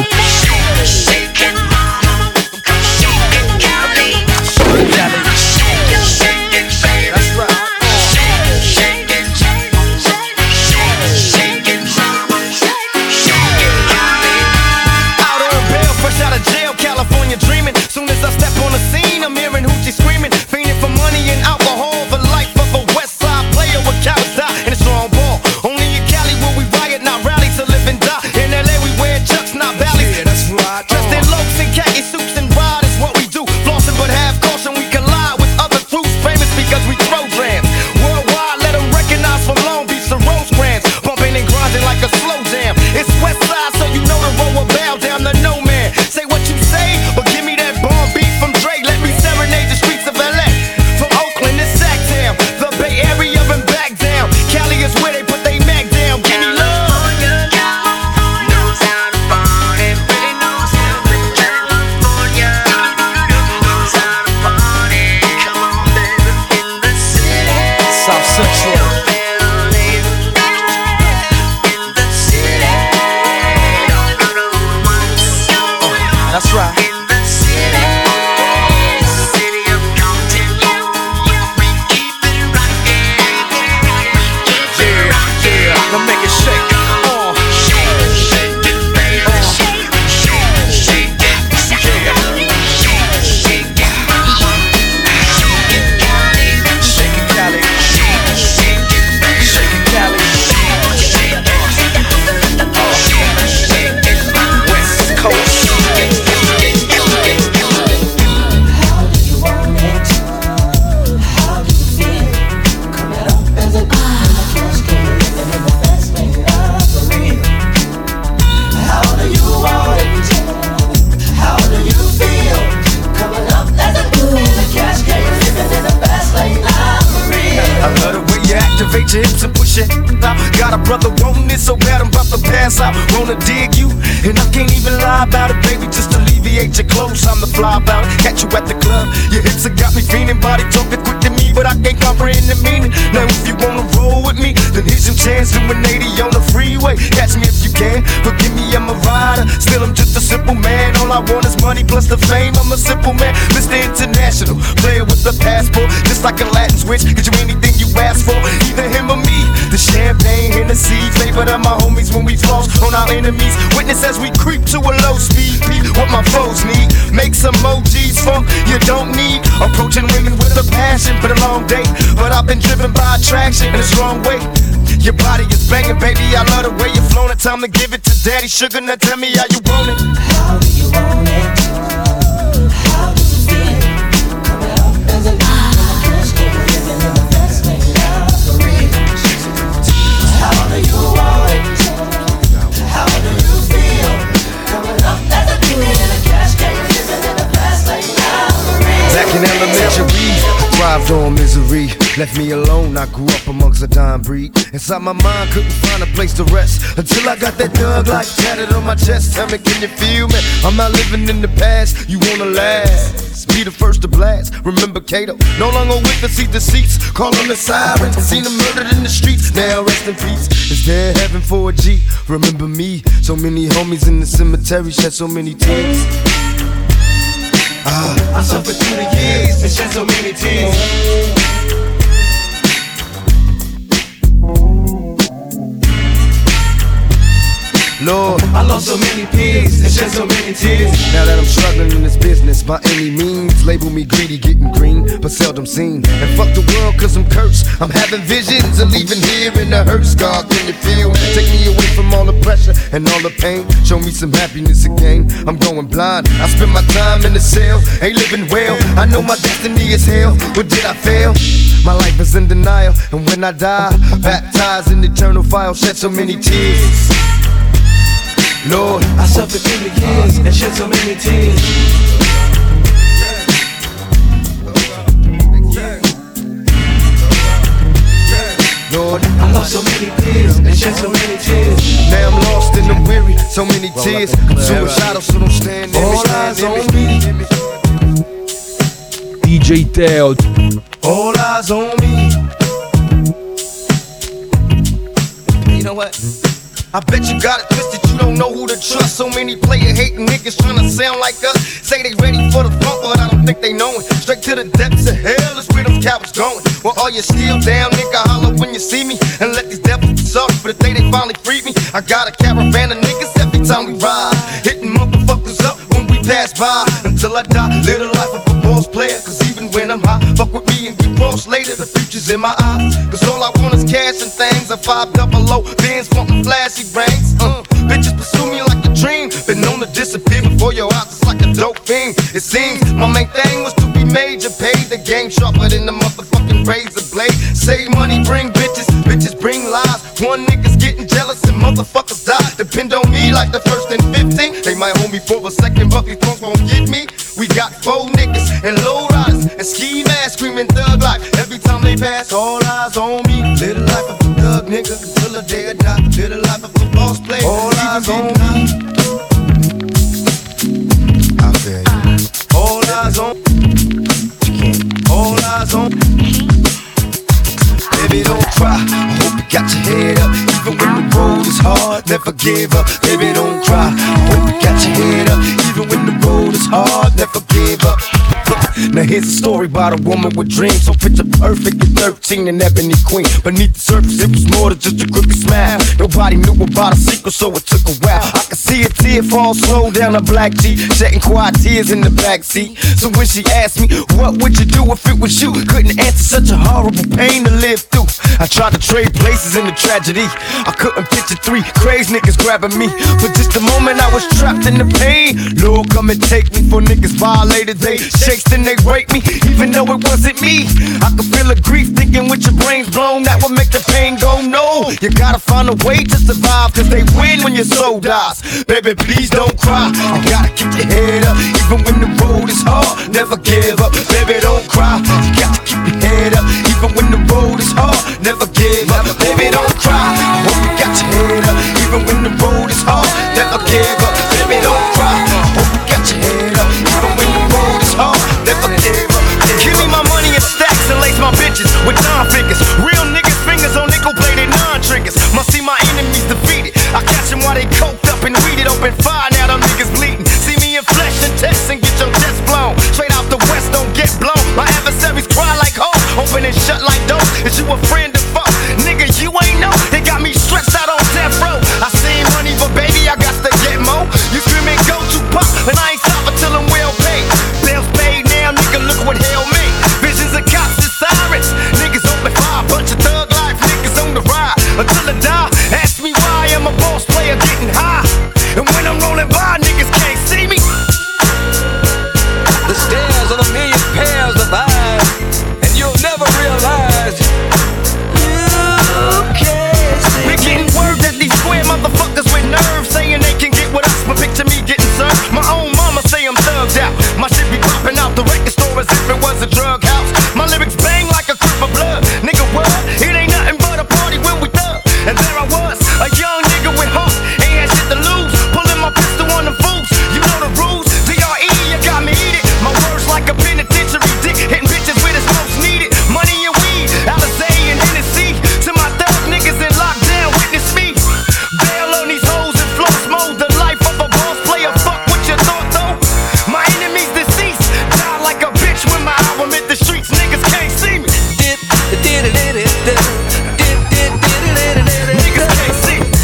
California dreaming. Soon as I step on the scene, I'm hearing hoochie screaming, fiending for money and alcohol, the life of a West Side player with cowards die and a strong ball. Only in Cali will we riot, not rally to live and die. In L A we wear chucks, not valleys. Yeah, that's right. Dressed in locs and khaki suits and ride is what we do. Flossing but have caution, we collide with other crews, famous because we throw grams. Worldwide, let them recognize from Long Beach to Rosecrans. Bumping and grinding like a slow jam. It's West Side, so you know the road will bow down to no man. Say what you say, but give me that bomb beat from Dre. Let me it so bad I'm about to pass out. Wanna dig you, and I can't even lie about it, baby. Just alleviate your clothes, I'm the fly about it. Catch you at the club, your hips have got me feeling. Body talking quick to me, but I can't comprehend the meaning. Now if you wanna roll with me, then here's your chance. Doing eighty on the freeway. Catch me if you can. Forgive me, I'm a rider. Still, I'm just a simple man. All I want is money plus the fame. I'm a simple man, Mister International, player with a passport, just like a Latin switch. Get you anything you ask for, either him or me. The champagne, Hennessy, favorite of my homies when we floss on our enemies. Witness as we creep to a low speed. Beat what my foes need. Make some emojis, funk you don't need. Approaching women with a passion for the long day, but I've been driven by attraction in the wrong way. Your body is banging, baby. I love the way you're flowing. Time to give it to Daddy Sugar. Now tell me how you want it. How do you want it? How does it feel? Coming up as a cash game, living in the best way now for real. How do you want it? How do you feel? Coming up as a king in a cash game, living in the best way now for real. Back in elementary, thrived on misery. Left me alone, I grew up amongst a dying breed. Inside my mind, couldn't find a place to rest until I got that thug life tatted on my chest. Tell me, can you feel me? I'm not living in the past, you wanna last. Be the first to blast. Remember Kato, no longer with the seat, the seats. Call on the sirens, seen them murdered in the streets. Now rest in peace. Is there heaven for a G? Remember me, so many homies in the cemetery shed so many tears. Ah, I suffered through the years and shed so many tears. Lord, I lost so many peers and shed so many tears. Now that I'm struggling in this business by any means, label me greedy, getting green, but seldom seen. And fuck the world cause I'm cursed. I'm having visions of leaving here in the hearse. God, can you feel me? Take me away from all the pressure and all the pain. Show me some happiness again. I'm going blind. I spend my time in the cell, ain't living well. I know my destiny is hell, but did I fail? My life is in denial, and when I die, baptized in eternal fire, shed so many tears. Lord, I suffered through the years and shed so many tears. Lord, I lost so many tears and shed so many tears. Now I'm lost and I'm weary, so many tears. I'm suicidal, so don't stand there. All eyes on me. D J Teo. All eyes on me. You know what? I bet you got it twisted, you don't know who to trust. So many player hating niggas trying to sound like us. Say they ready for the funk, but I don't think they know it. Straight to the depths of hell is where them cowards going. Well, all you still down, nigga, holler when you see me. And let these devils suck for the day they finally freed me. I got a caravan of niggas every time we ride, hitting motherfuckers up when we pass by. Until I die, live the life of a boss player. Cause even when I'm high, fuck with me and get cross later. The future's in my eyes. Cause all I want is cash and things. A five double low, Benz wanting flashy brains. Uh, bitches pursue me like a dream. Been known to disappear before your eyes, it's like a dope fiend. It seems my main thing was to be major. Paid the game sharper than the motherfucking razor blade. Save money, bring bitches, bitches bring lies. One nigga's getting jealous and motherfuckers die. Depend on me like the first and fifteen. They might hold me for a second, but these punks won't get me. We got four niggas and low riders and ski masks screaming thug life. Every time they pass, all eyes on me. Live the life of a thug nigga until the day I die. Live the life of a boss player. All eyes on me. I feel you. All eyes on. All eyes on. Baby, don't cry. I hope you got your head up. Even when the road is hard, never give up. Baby, don't cry. I hope you got your head up. Even when the road is hard, never give up. Now here's a story about a woman with dreams. So picture perfect at thirteen, an ebony queen. Beneath the surface, it was more than just a crooked smile. Nobody knew about a secret, so it took a while. I could see a tear fall slow down her black cheek, shedding quiet tears in the backseat. So when she asked me, what would you do if it was you? Couldn't answer, such a horrible pain to live through. I tried to trade places in the tragedy. I couldn't picture three crazy niggas grabbing me. For just a moment I was trapped in the pain. Lord, come and take me, for niggas violated. They shakes, then they rape me, even though it wasn't me. I could feel the grief thinking with your brains blown, that would make the pain go no. You gotta find a way to survive, cause they win when your soul dies. Baby, please don't cry. You gotta keep your head up, even when the road is hard. Never give up, baby, don't cry. You got to keep your head up, even when the road is hard. Never give up, baby, don't cry. I hope you got your head up. never give up. Baby, don't cry. Hope you got your head up. Even when the road is hard, never give up. Give me my money in stacks and lace my bitches with nine figures. Real niggas' fingers on nickel-plated non-triggers. Must see my enemies defeated. I catch them while they coked up and weeded open fire. Now them niggas bleeding. See me in flesh and text and get your chest blown. Straight out the west, don't get blown. My adversaries cry like hoes, open and shut like doors. Is you a friend to fuck? Nigga, you ain't know. They got me stretched out on death row. I seen money, but baby, I got to get more. You screaming go to pop, and I ain't stopping till I'm well paid. Bills paid now, nigga, look what hell made. Visions of cops and sirens. Niggas open fire, bunch of thug life niggas on the ride. Until I die, ask me why I'm a boss player getting high. And when I'm rolling by, niggas can't see me. The stairs of a million pairs of eyes, and you'll never realize you can't see. We're getting word that these square motherfuckers with nerves saying they can get with us, but picture me getting served. My own mama say I'm thugged out. My shit be popping out the record store as if it was a drug house. My lyrics bang like a crip of blood. Nigga, what? It ain't nothing but a party when we thug. And there I was, a young nigga with heart, ain't had shit to lose. Pulling my pistol on the fools. You know the rules. D R E, you got me eat it. My words like a penitentiary dick, hitting bitches where it's most needed. Money and weed, Alizé and Hennessy. To my thug niggas in lockdown, witness me. Bail on these hoes and floss mode. The life of a boss player, fuck what you thought though. My enemies deceased, die like a bitch when my album hit the streets. Niggas can't see me. Dip, did it, did it, did it. Niggas can't see me.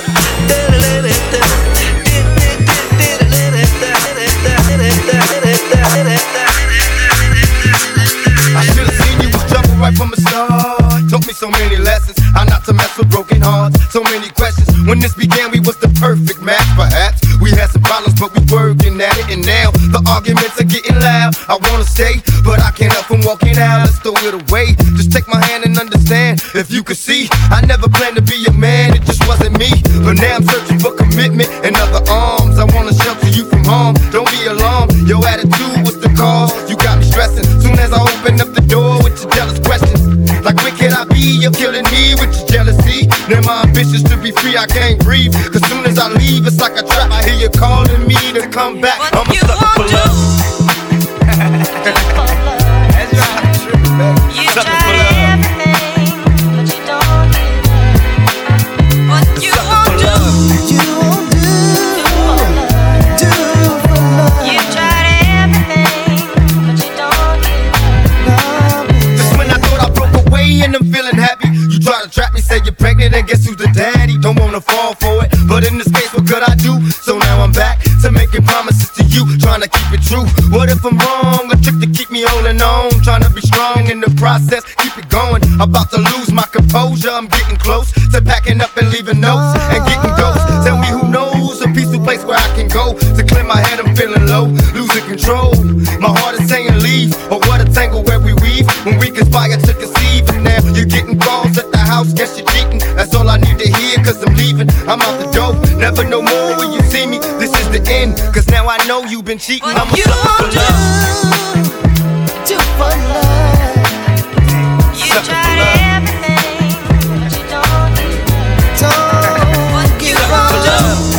I should've seen you was trouble right from the start. Taught me so many lessons, how not to mess with broken hearts. So many questions. When this began, we was the perfect match. Perhaps we had some problems, but we working at it. And now the arguments are getting loud. I wanna stay, but I can't help from walking out. Let's throw it away. Just take my hand and understand. If you could see, I never planned to be a man. It just wasn't me. But now I'm searching for commitment and other arms. I wanna shelter you from harm. Don't be alarmed. Your attitude was the cause. You got me stressing. Soon as I open up the door with your jealous questions. Like where can I be? You're killing me with your jealousy. Now my ambitions to be free, I can't breathe. Cause soon as I leave, it's like a trap. I hear you calling me to come back. I'm a sucker for love. That's right. You sucker for love. Everything, but you don't give up. What you won't do, you won't do. Do for love. You tried everything, but you don't give up. Just when I thought I broke away and I'm feeling happy, you try to trap me, say you're pregnant, and guess who's the daddy? Don't wanna fall for it, but in this case, what could I do? So now I'm back to making promises to you, trying to keep it true. What if I'm wrong? A trick to keep me holding on, trying to be strong in the process, keep it going. About to lose my composure, I'm getting close to packing up and leaving notes and getting ghosts. Tell me who knows a peaceful place where I can go to clear my head. I'm feeling low, losing control. My heart is saying leave, or what a tangle where we weave when we conspire to conceive. And now you're getting calls at the house, guess you're cheating. That's all I need to hear, cause I'm leaving. I'm out the door, never no more when you see me. This is the end, cause now I know you've been cheating. I'm a sucker for love. Do for love. You tried everything, but you don't give up. What you won't do.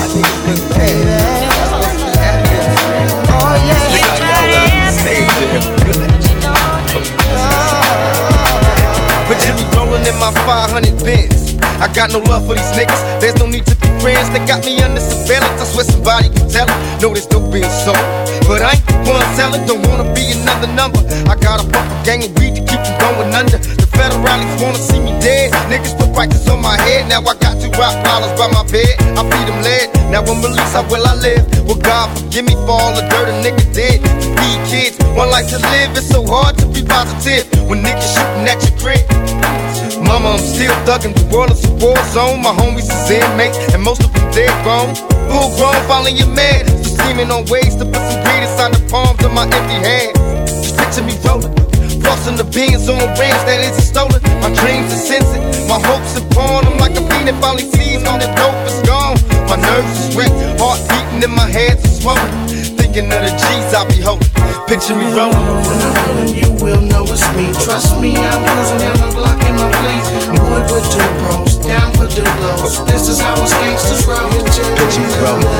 Oh yeah, you tried everything, but you don't give up. But you be rolling in my five hundred Benz. I got no love for these niggas, there's no need to be friends. They got me under surveillance, I swear somebody can tell it. No, there's no being sold, but I ain't the one selling. Don't wanna be another number. I got a proper gang of weed to keep me going under. The federalists wanna see me dead. Niggas put prices on my head. Now I got two rock dollars by my bed. I feed them lead. Now I'm released, how will I live? Well, God forgive me for all the dirt a nigga did. To feed kids, one life to live. It's so hard to be positive when niggas shooting at your crib. Mama, I'm still thuggin', the world is a war zone. My homies is inmates, and most of them dead grown. Full grown, following your man. So scheming on ways to put some greed inside the palms of my empty hands. Just picture me rolling, flossing the beans on rims that isn't stolen. My dreams are sensing, my hopes are born. I'm like a fiend that finally sees all the dope is gone. My nerves is wrecked, heart beating in my head is swollen. Thinking of the G's I be holding, picture me rolling. When I'm rolling, you will know it's me. Trust me, I'm cruising down the block in my place. I'm good with two bros, down for the blows. This is how us gangsters roll. Picture me rolling.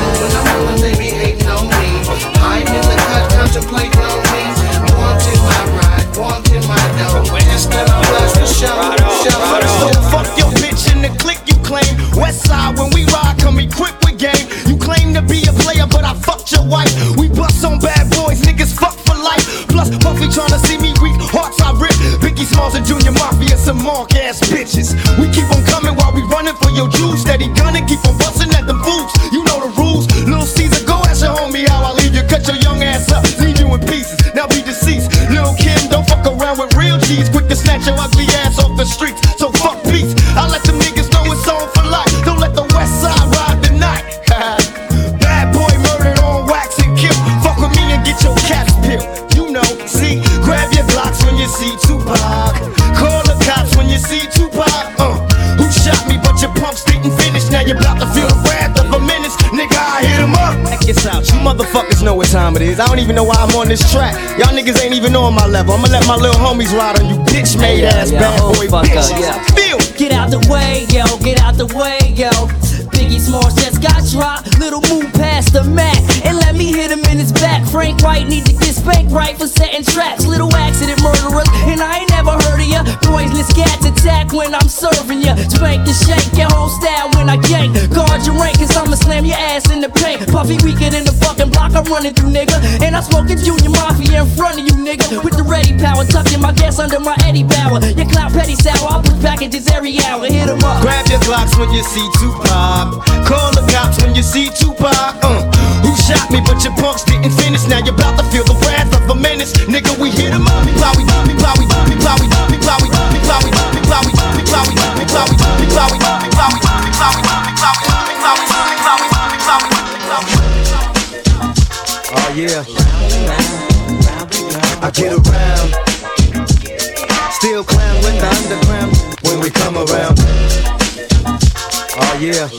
trophy, tryna see me weak, hearts I rip. Biggie Smalls and Junior Mafia, some mark ass bitches. We keep on coming while we running for your juice. Steady gunning, keep on busting at them fools. You know the rules. Lil Caesar, go ask your homie how I leave you. Cut your young ass up, leave you in pieces. Now be deceased. Lil Kim, don't fuck around with real G's. Quick to snatch your ugly ass off the streets. So fuck peace. I let them niggas know it's on for life. Don't let the West Side ride the night. Bad boy murdered on wax and kill. Fuck with me and get your caps peeled. You know, see, grab your blocks when you see Tupac. Call the cops when you see Tupac. Uh, who shot me? But your pumps didn't finish. Now you're about to feel the wrath of a menace. Nigga, I hit him up. Check this out, you motherfuckers know what time it is. I don't even know why I'm on this track. Y'all niggas ain't even on my level. I'ma let my little homies ride on you bitch made ass yeah, bad oh, boy fuck bitches. up, yeah. Feel. Get out the way, yo, get out the way, yo. Biggie Smalls just got dropped. Little move past the Mac and let me hit him in his back. Frank White need to get spanked right for setting traps. Little accident murderers, and I ain't never heard of ya. Poisonous cats attack when I'm serving ya. Spank the shake, your whole style when I yank. Guard your rank, cause I'ma slam your ass in the paint. Puffy weaker than the fucking block I'm running through, nigga. And I'm smoking Junior Mafia in front of you, nigga. With the ready power, tucking my gas under my Eddie Bauer. Your clout petty sour, I'll push packages every hour. Hit 'em up. Grab your Glocks when you see Tupac. Call the cops when you see Tupac. Uh, who shot me? But your punks didn't finish. Now you're about to feel the wrath of a menace. Nigga, we hit 'em up. We plowy, we plowy, we plowy, we plowy, we plowy, we plowy, we plowy, we plowy, we plowy, we plowy, we plowy, we plowy, we plowy, we plowy, we plowy, we plowy, we plowy. Oh yeah. I get around. Still clown with the underground when we come around. Oh yeah.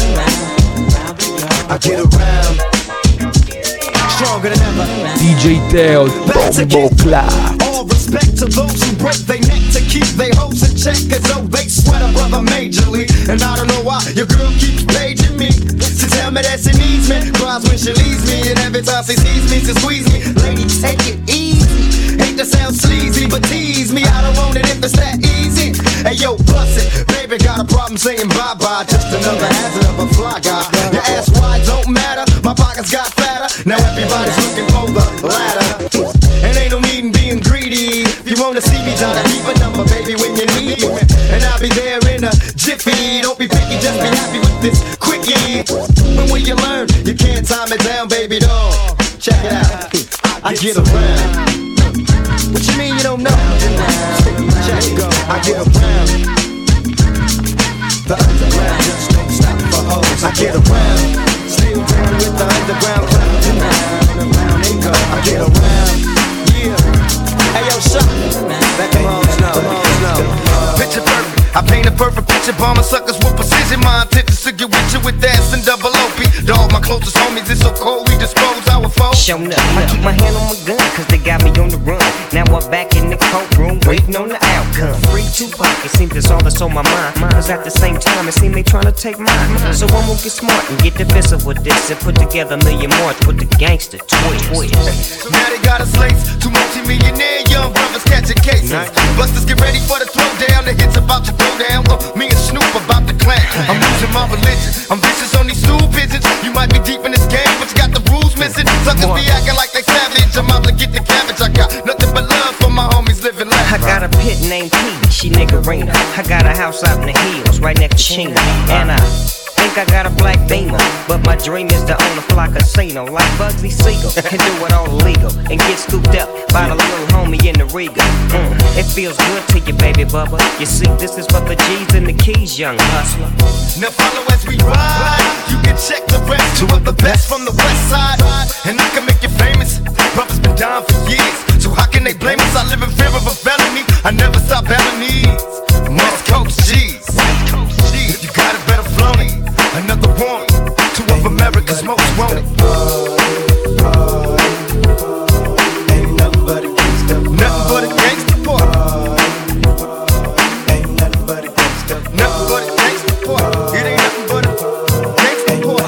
I get around. Stronger than ever. D J Teo, Bombo Club. All respect to those who break their neck to keep their hopes in check, as though they sweat a brother majorly. And I don't know why your girl keeps paging me to tell me that she needs me. Cries when she leaves me, and every time she sees me, she squeeze me. Lady, take it easy. Hate to sound sleazy, but tease me. I don't want it if it's that easy. Hey yo, bust it, baby, got a problem saying bye bye. Just another hazard of a fly guy. Your ass wide don't matter. My pockets got fatter. Now everybody's looking for the ladder. And ain't no need in being greedy. If you wanna see me, try to keep a number, baby, when you need me. And I'll be there in a jiffy. Don't be picky, just be happy with this quickie. When will you learn? You can't time it down, baby doll. Check it out. I get around. What you mean you don't know? Check it go. I get around. The underground just don't stop for hoes. I get around. Still down with the underground clown. Around and go. I get around. Yeah. Hey yo, shut. Let them hoes know. Them hoes know. Picture perfect. I paint a perfect picture. Bombing suckers with precision. My intentions to get with you with ass and double O P. Dog, my closest homies. It's so cold we dispose our foes. Show up. I keep my hand on my gun, cause they got me on the run. Now I'm back in the courtroom, waiting on the outcome. Free Tupac, it seems that's all that's on my mind. Cause at the same time, it seems they tryna take mine. So I'm gonna get smart and get defensive with this and put together a million more with the gangster twist. Now they got us laced. Two multi-millionaire young brothers catching cases. Busters get ready for the throwdown. The hits about to go down. Well, me and Snoop about to clap. I'm losing my religion. I'm vicious on these stool pigeons. You might be deep in this game, but you got the rules missing. Suckers be acting like they savage. I'm out to get the cabbage. I got nothing but love for my homies living life. I got a pit named P, she niggerina. I got a house out in the hills, right next to Chino. And I think I got a black Beamer, but my dream is to own a fly casino like Bugsy Siegel and do it all illegal and get scooped up by the little homie in the Riga. Mm, it feels good to you, baby bubba. You see, this is for the G's and the keys, young hustler. Now follow as we ride. You can check the rest. Two of the best from the west side, and I can make you famous. Brothers been down for years, so how can they blame us? I live in fear of a felony. I never stop having needs. West Coast G's. If you got it, better flown it. Another one, two of America's most wanted. Ain't nothing but a gangster. Nothing but a gangster boy. Ain't nothing but a gangster. Nothing but a gangster boy. It ain't nothing but a gangster boy.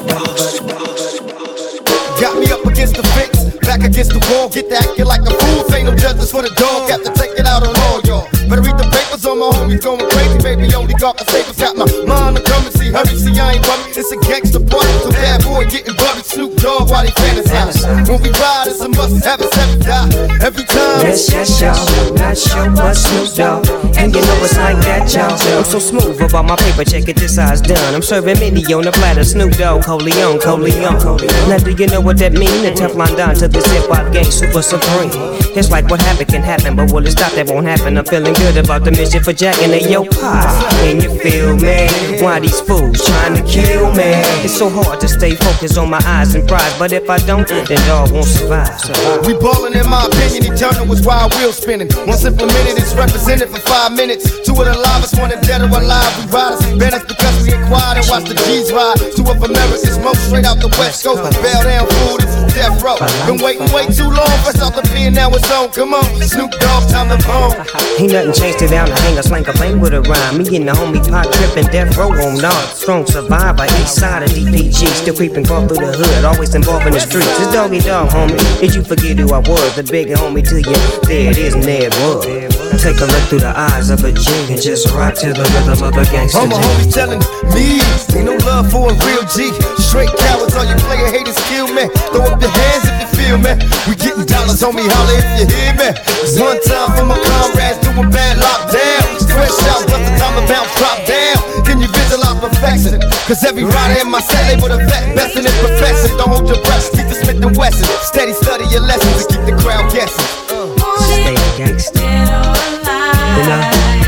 Got me up against the fence, back against the wall. Get to acting like a fool. Ain't no justice for the dog. Got to take it out on all y'all. Better read the papers on my homies going crazy, baby. Only God can save us. Got my mind to come and see. Hurry, see, I ain't worried. It's a gangster party. So bad boy getting buttered. Snoop Dogg while they fantasize. When we ride, it's a must have it, seven die. Every time yes, yes, y'all. Not sure, but Snoop Dogg. And you know it's like that, y'all. I'm so smooth about my paper, check it, this size done. I'm serving mini on the platter, Snoop Dogg, Coleon, Coleon. Now do you know what that mean? The Teflon Don to this hip-hop gang, super supreme. It's like what happened can happen, but will it stop? That won't happen. I'm feeling good about the mission for Jack and the yo pie. Can you feel me? Why these fools trying to kill me? It's so hard to stay focused on my eyes and pride, but if I don't, then dog won't survive. survive. We ballin' in my opinion, eternal was wild wheel spinning. Once implemented, it's represented for five minutes. Two of the livest, one dead or alive. We riders, banned us because we ain't quiet and watch the G's ride. Two of America's most straight out the West Coast. Bail down food, it's death row. Been waiting way too long, fresh out the pen, now it's on. Come on, Snoop Dogg, time to bone. Ain't nothing changed it down to hang a slang a bang with a rhyme. Me and the homie pot trippin', death row on nod. Strong survivor, east side of D P G. Still creeping, crawl through the hood, always involved in the streets. It's doggy dog, homie. Did you forget who I was? The bigger homie to you. There it is, and there it was. Now take a look through the eyes of a G and just rock to the rhythm of a gangster. All my homies telling me, ain't no love for a real G. Straight cowards, all you player haters kill me. Throw up your hands if you feel me. We getting dollars, homie, holler if you hear me. It's one time for my comrades doing bad lockdown. Fresh out, but the time about drop down. Can you visualize perfection? Cause every rider in my set label the vet, best in his profession. Don't hold your breath, keep the Smith and Wesson. Steady study your lessons and keep the crowd guessing. Stay a gangster. You know?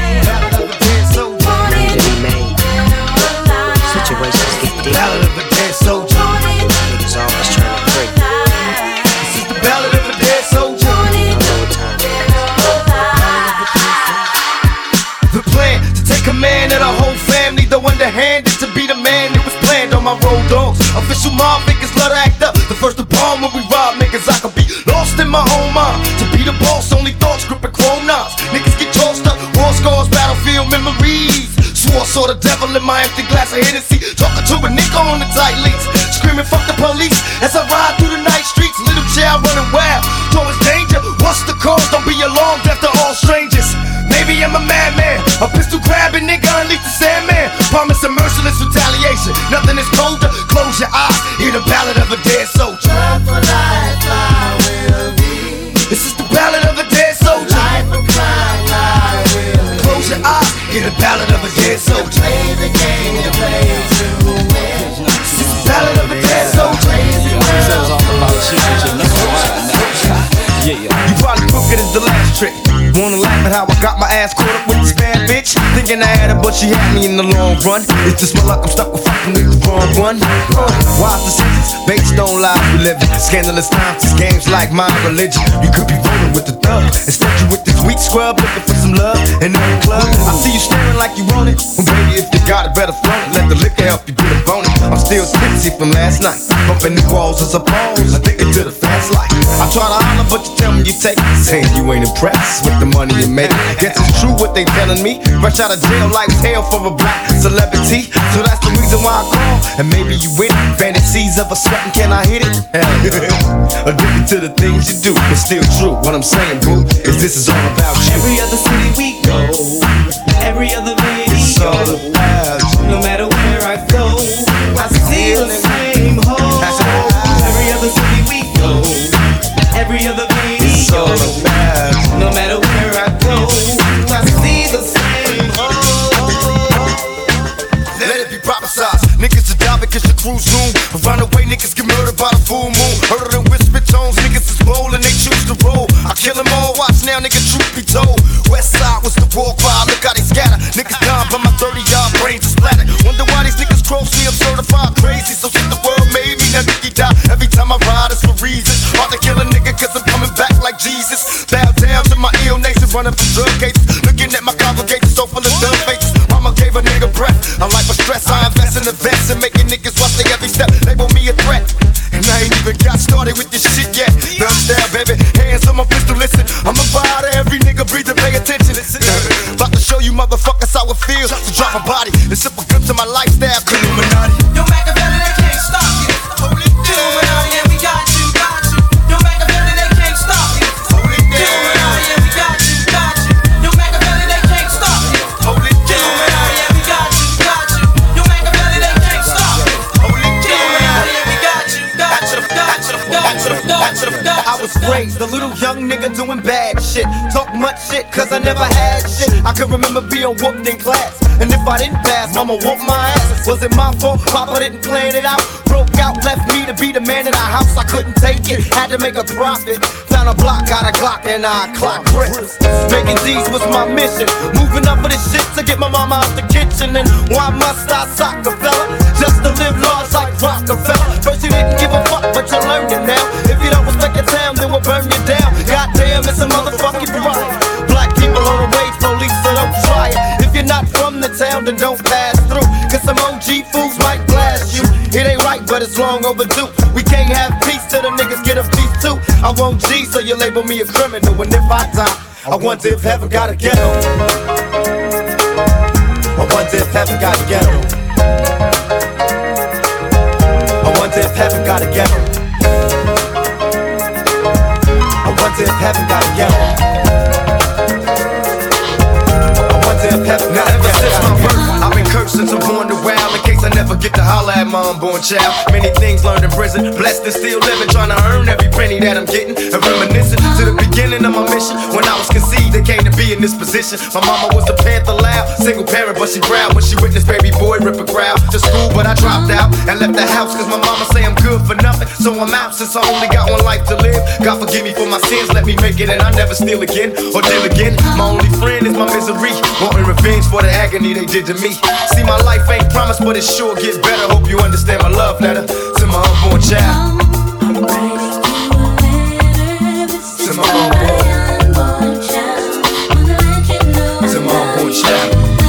Situations get deep. Ballad of a dead soldier. Niggas always trying to break. This is the ballad of a dead soldier. The plan to take command of the whole family, though underhanded to be the man that was planned on my road dogs. Official mob niggas love to act up. The first to bomb when we rob niggas, I could be lost in my own mind. To be the boss, only thoughts gripping chrome knives. Niggas get tossed up, war scars, battlefield memories. Swore saw the devil in my empty glass of Hennessy. Talking to a nigga on the tight leads, screaming fuck the police as I ride through the night streets. Little child running wild, towards danger. What's the cause? Don't be alarmed after all strangers. Maybe I'm a madman, a pistol grabbing nigga, unleash the Sandman. Promise a merciless retaliation. Nothing is colder. Close your eyes, hear the ballad of a dead soldier. Love for life, I will be. This is the ballad of a dead soldier. Life of crime, I will be. Close your eyes, hear the ballad of a dead soldier. Play the game you play to win. This is the ballad of a dead soldier. Says all about you, but you know why now. Yeah, You probably crooked as the last trick. Wanna laugh at how I got my ass caught up with this bad bitch? Thinking I had her, but she had me in the long run. It's just my luck, I'm stuck with fucking with the wrong one. Uh, wise decisions, based on lies we live in. Scandalous times, these games like my religion. You could be rolling with the thug. Instead you with this weak scrub, looking for some love in the club. I see you staring like you want it. Well baby, if you got it, better flaunt it. Let the liquor help you get a bonus. I'm still tipsy from last night. Bumping the walls as a pose, addicted to the fast life. I try to holler, but you tell me you take it. Saying you ain't impressed with the money you make. Guess it's true what they telling me. Fresh out of jail, life's hell for a black celebrity. So that's the reason why I call. And maybe you with it. Fantasies of a sweating, can I hit it? Hell yeah. Addicted to the things you do, but still true. What I'm saying, boo, is this is all about you. Every other city we go, every other video, it's all about you. No matter where I go, I see the same hole. Every other city we go, every other video, it's all about you. No matter where I go, I see the same hole. Let it be prophesized. Niggas are die because your crew zoom. Around the way, niggas get murdered by the full moon. Heard of them whisper tones, niggas is bold and they choose to roll. I kill them all, watch now, nigga, truth be told. West side was the war cry, look how they scatter. Niggas down, but my thirty yard brains are splattered. Wonder why these niggas cross me, I'm certified crazy. So shit the world made me, now nigga die. Every time I ride, it's for reasons. Hard to kill a nigga, cause I'm coming back like Jesus. Bow down to my ill nation, running for drug cases. Looking at my congregation, so full of dumb faces. Mama gave a nigga breath. I'm like for stress, I invest in the vets and making niggas watch their every step. Label me a threat. And I ain't even got started with this shit yet. Thug style, baby, hands on my pistol, listen. I'ma buy to every nigga, breathe and pay attention. About to show you motherfuckers how it feels to drop a body and sip a grip to my lifestyle. Illuminati. Yo, Machiavelli, they can't stop you. Hold it down. Yeah, we got you, got you. Yo, Machiavelli, they can't stop you. Hold it down. Yeah, we got you, got you. Yo, Machiavelli, they can't stop you. Hold it down. Yeah, we got you, got you. Yo, Machiavelli, they can't stop you. Hold it down. Yeah, we got you, got you, got you, got you, got you. I was raised a little young nigga doing bad shit. shit. Talk much shit, cause I never had shit. I can remember being whooped in class, and if I didn't pass, mama whooped my ass. Was it my fault? Papa didn't plan it out. Broke out, left me to be the man in the house. I couldn't take it, had to make a profit. Found a block, got a Glock, and I clock bricks. Making D's was my mission. Moving up for this shit to get my mama out the kitchen. And why must I sock a fella? Just to live large like Rockefeller. First you didn't give a fuck, but you learned it now. If you don't respect your town, then we'll burn you down. Goddamn, it's a motherfucking riot. Black people on the wage, police, so don't try it. If you're not from the town, then don't pass through. Cause some O G fools might blast you. It ain't right, but it's long overdue. We can't have peace till the niggas get a piece too. I won't G, so you label me a criminal. And if I die, I wonder if heaven got a ghetto. I wonder if heaven got a ghetto. I wonder if heaven got a ghetto. I wonder if heaven got a ghetto. I wonder if heaven got a ghetto. Now ever since my birth, I've been cursed since I'm born to wild. In case I never get to holler at my unborn child. Many things learned in prison, blessed and still living, trying to earn every penny that I'm getting. And reminiscing to the beginning of my mission. When I was conceived, they came to be in this position. My mama was a Panther loud, single parent, but she proud when she witnessed baby boy rip a crowd to school. But I dropped out and left the house, cause my mama say I'm good for nothing. So I'm out since I only got one life to live. God forgive me for my sins, let me make it, and I never steal again or deal again. My only friend is my misery, wanting revenge for the agony they did to me. See, my life ain't promised, but it sure gets better. Hope you understand my love letter to my unborn child. To my unborn child. To my unborn child.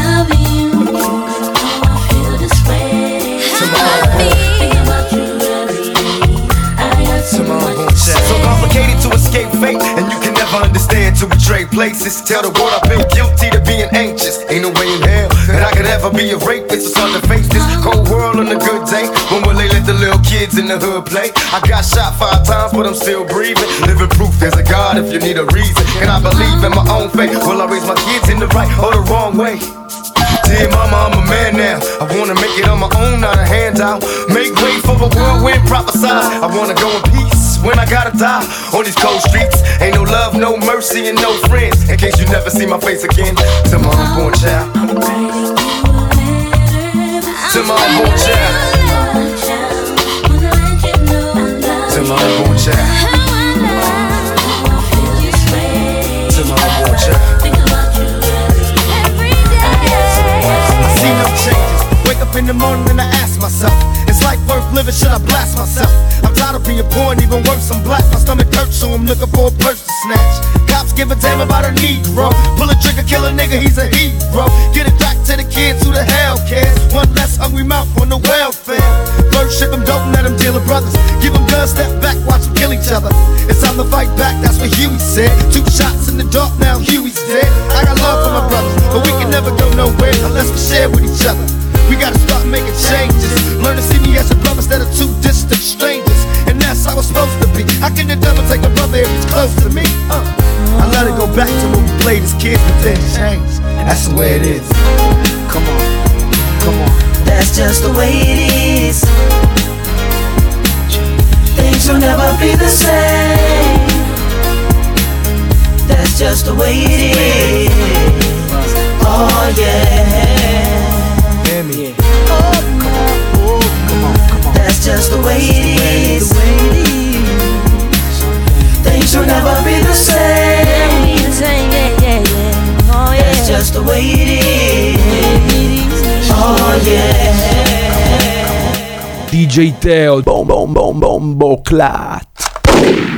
To my unborn child. So complicated to escape fate, and you can never understand till we trade places. Tell the world I've been guilty to being anxious. Ain't no way in hell that I could ever be a rapist. It's hard to face this cold world on a good day. When will they let the little kids in the hood play? I got shot five times, but I'm still breathing. Living proof there's a God if you need a reason. And I believe in my own faith. Will I raise my kids in the right or the wrong way? Dear mama, I'm a man now. I wanna make it on my own, not a handout. Make way for a whirlwind prophesied. I wanna go in peace when I gotta die on these cold streets. Ain't no love, no mercy, and no friends. In case you never see my face again. To my unborn child. To my unborn child. To my unborn child. To my unborn child. I see no changes. Wake up in the morning and I ask myself, is life worth living? Should I blast myself? I'm tired of being poor and even worse, I'm black. My stomach hurts, so I'm looking for a purse to snatch. Cops give a damn about a Negro. Pull a trigger, kill a nigga, he's a hero. Get it back to the kids who the hell cares. One less hungry mouth on the welfare. First ship them, don't let them deal with brothers. Give them guns, step back, watch them kill each other. It's time to fight back, that's what Huey said. Two shots in the dark, now Huey's dead. I got love for my brothers, but we can never go nowhere unless we share with each other. We gotta start making changes. Learn to see me as a brother instead of two distant strangers. And that's how it's supposed to be. How can the devil take a brother if he's close to me? Uh, I let it go back to when we played as kids, but then changed. That's the way it is. Come on, come on. That's just the way it is. Things will never be the same. That's just the way it is. Oh yeah. Yeah. Oh, come on, oh, come on, come on. That's just the way it is. Things will never be the same. Yeah, yeah, yeah. Oh, yeah. That's just the way it is. Oh yeah. D J Teo, bom bom bom bombo clat.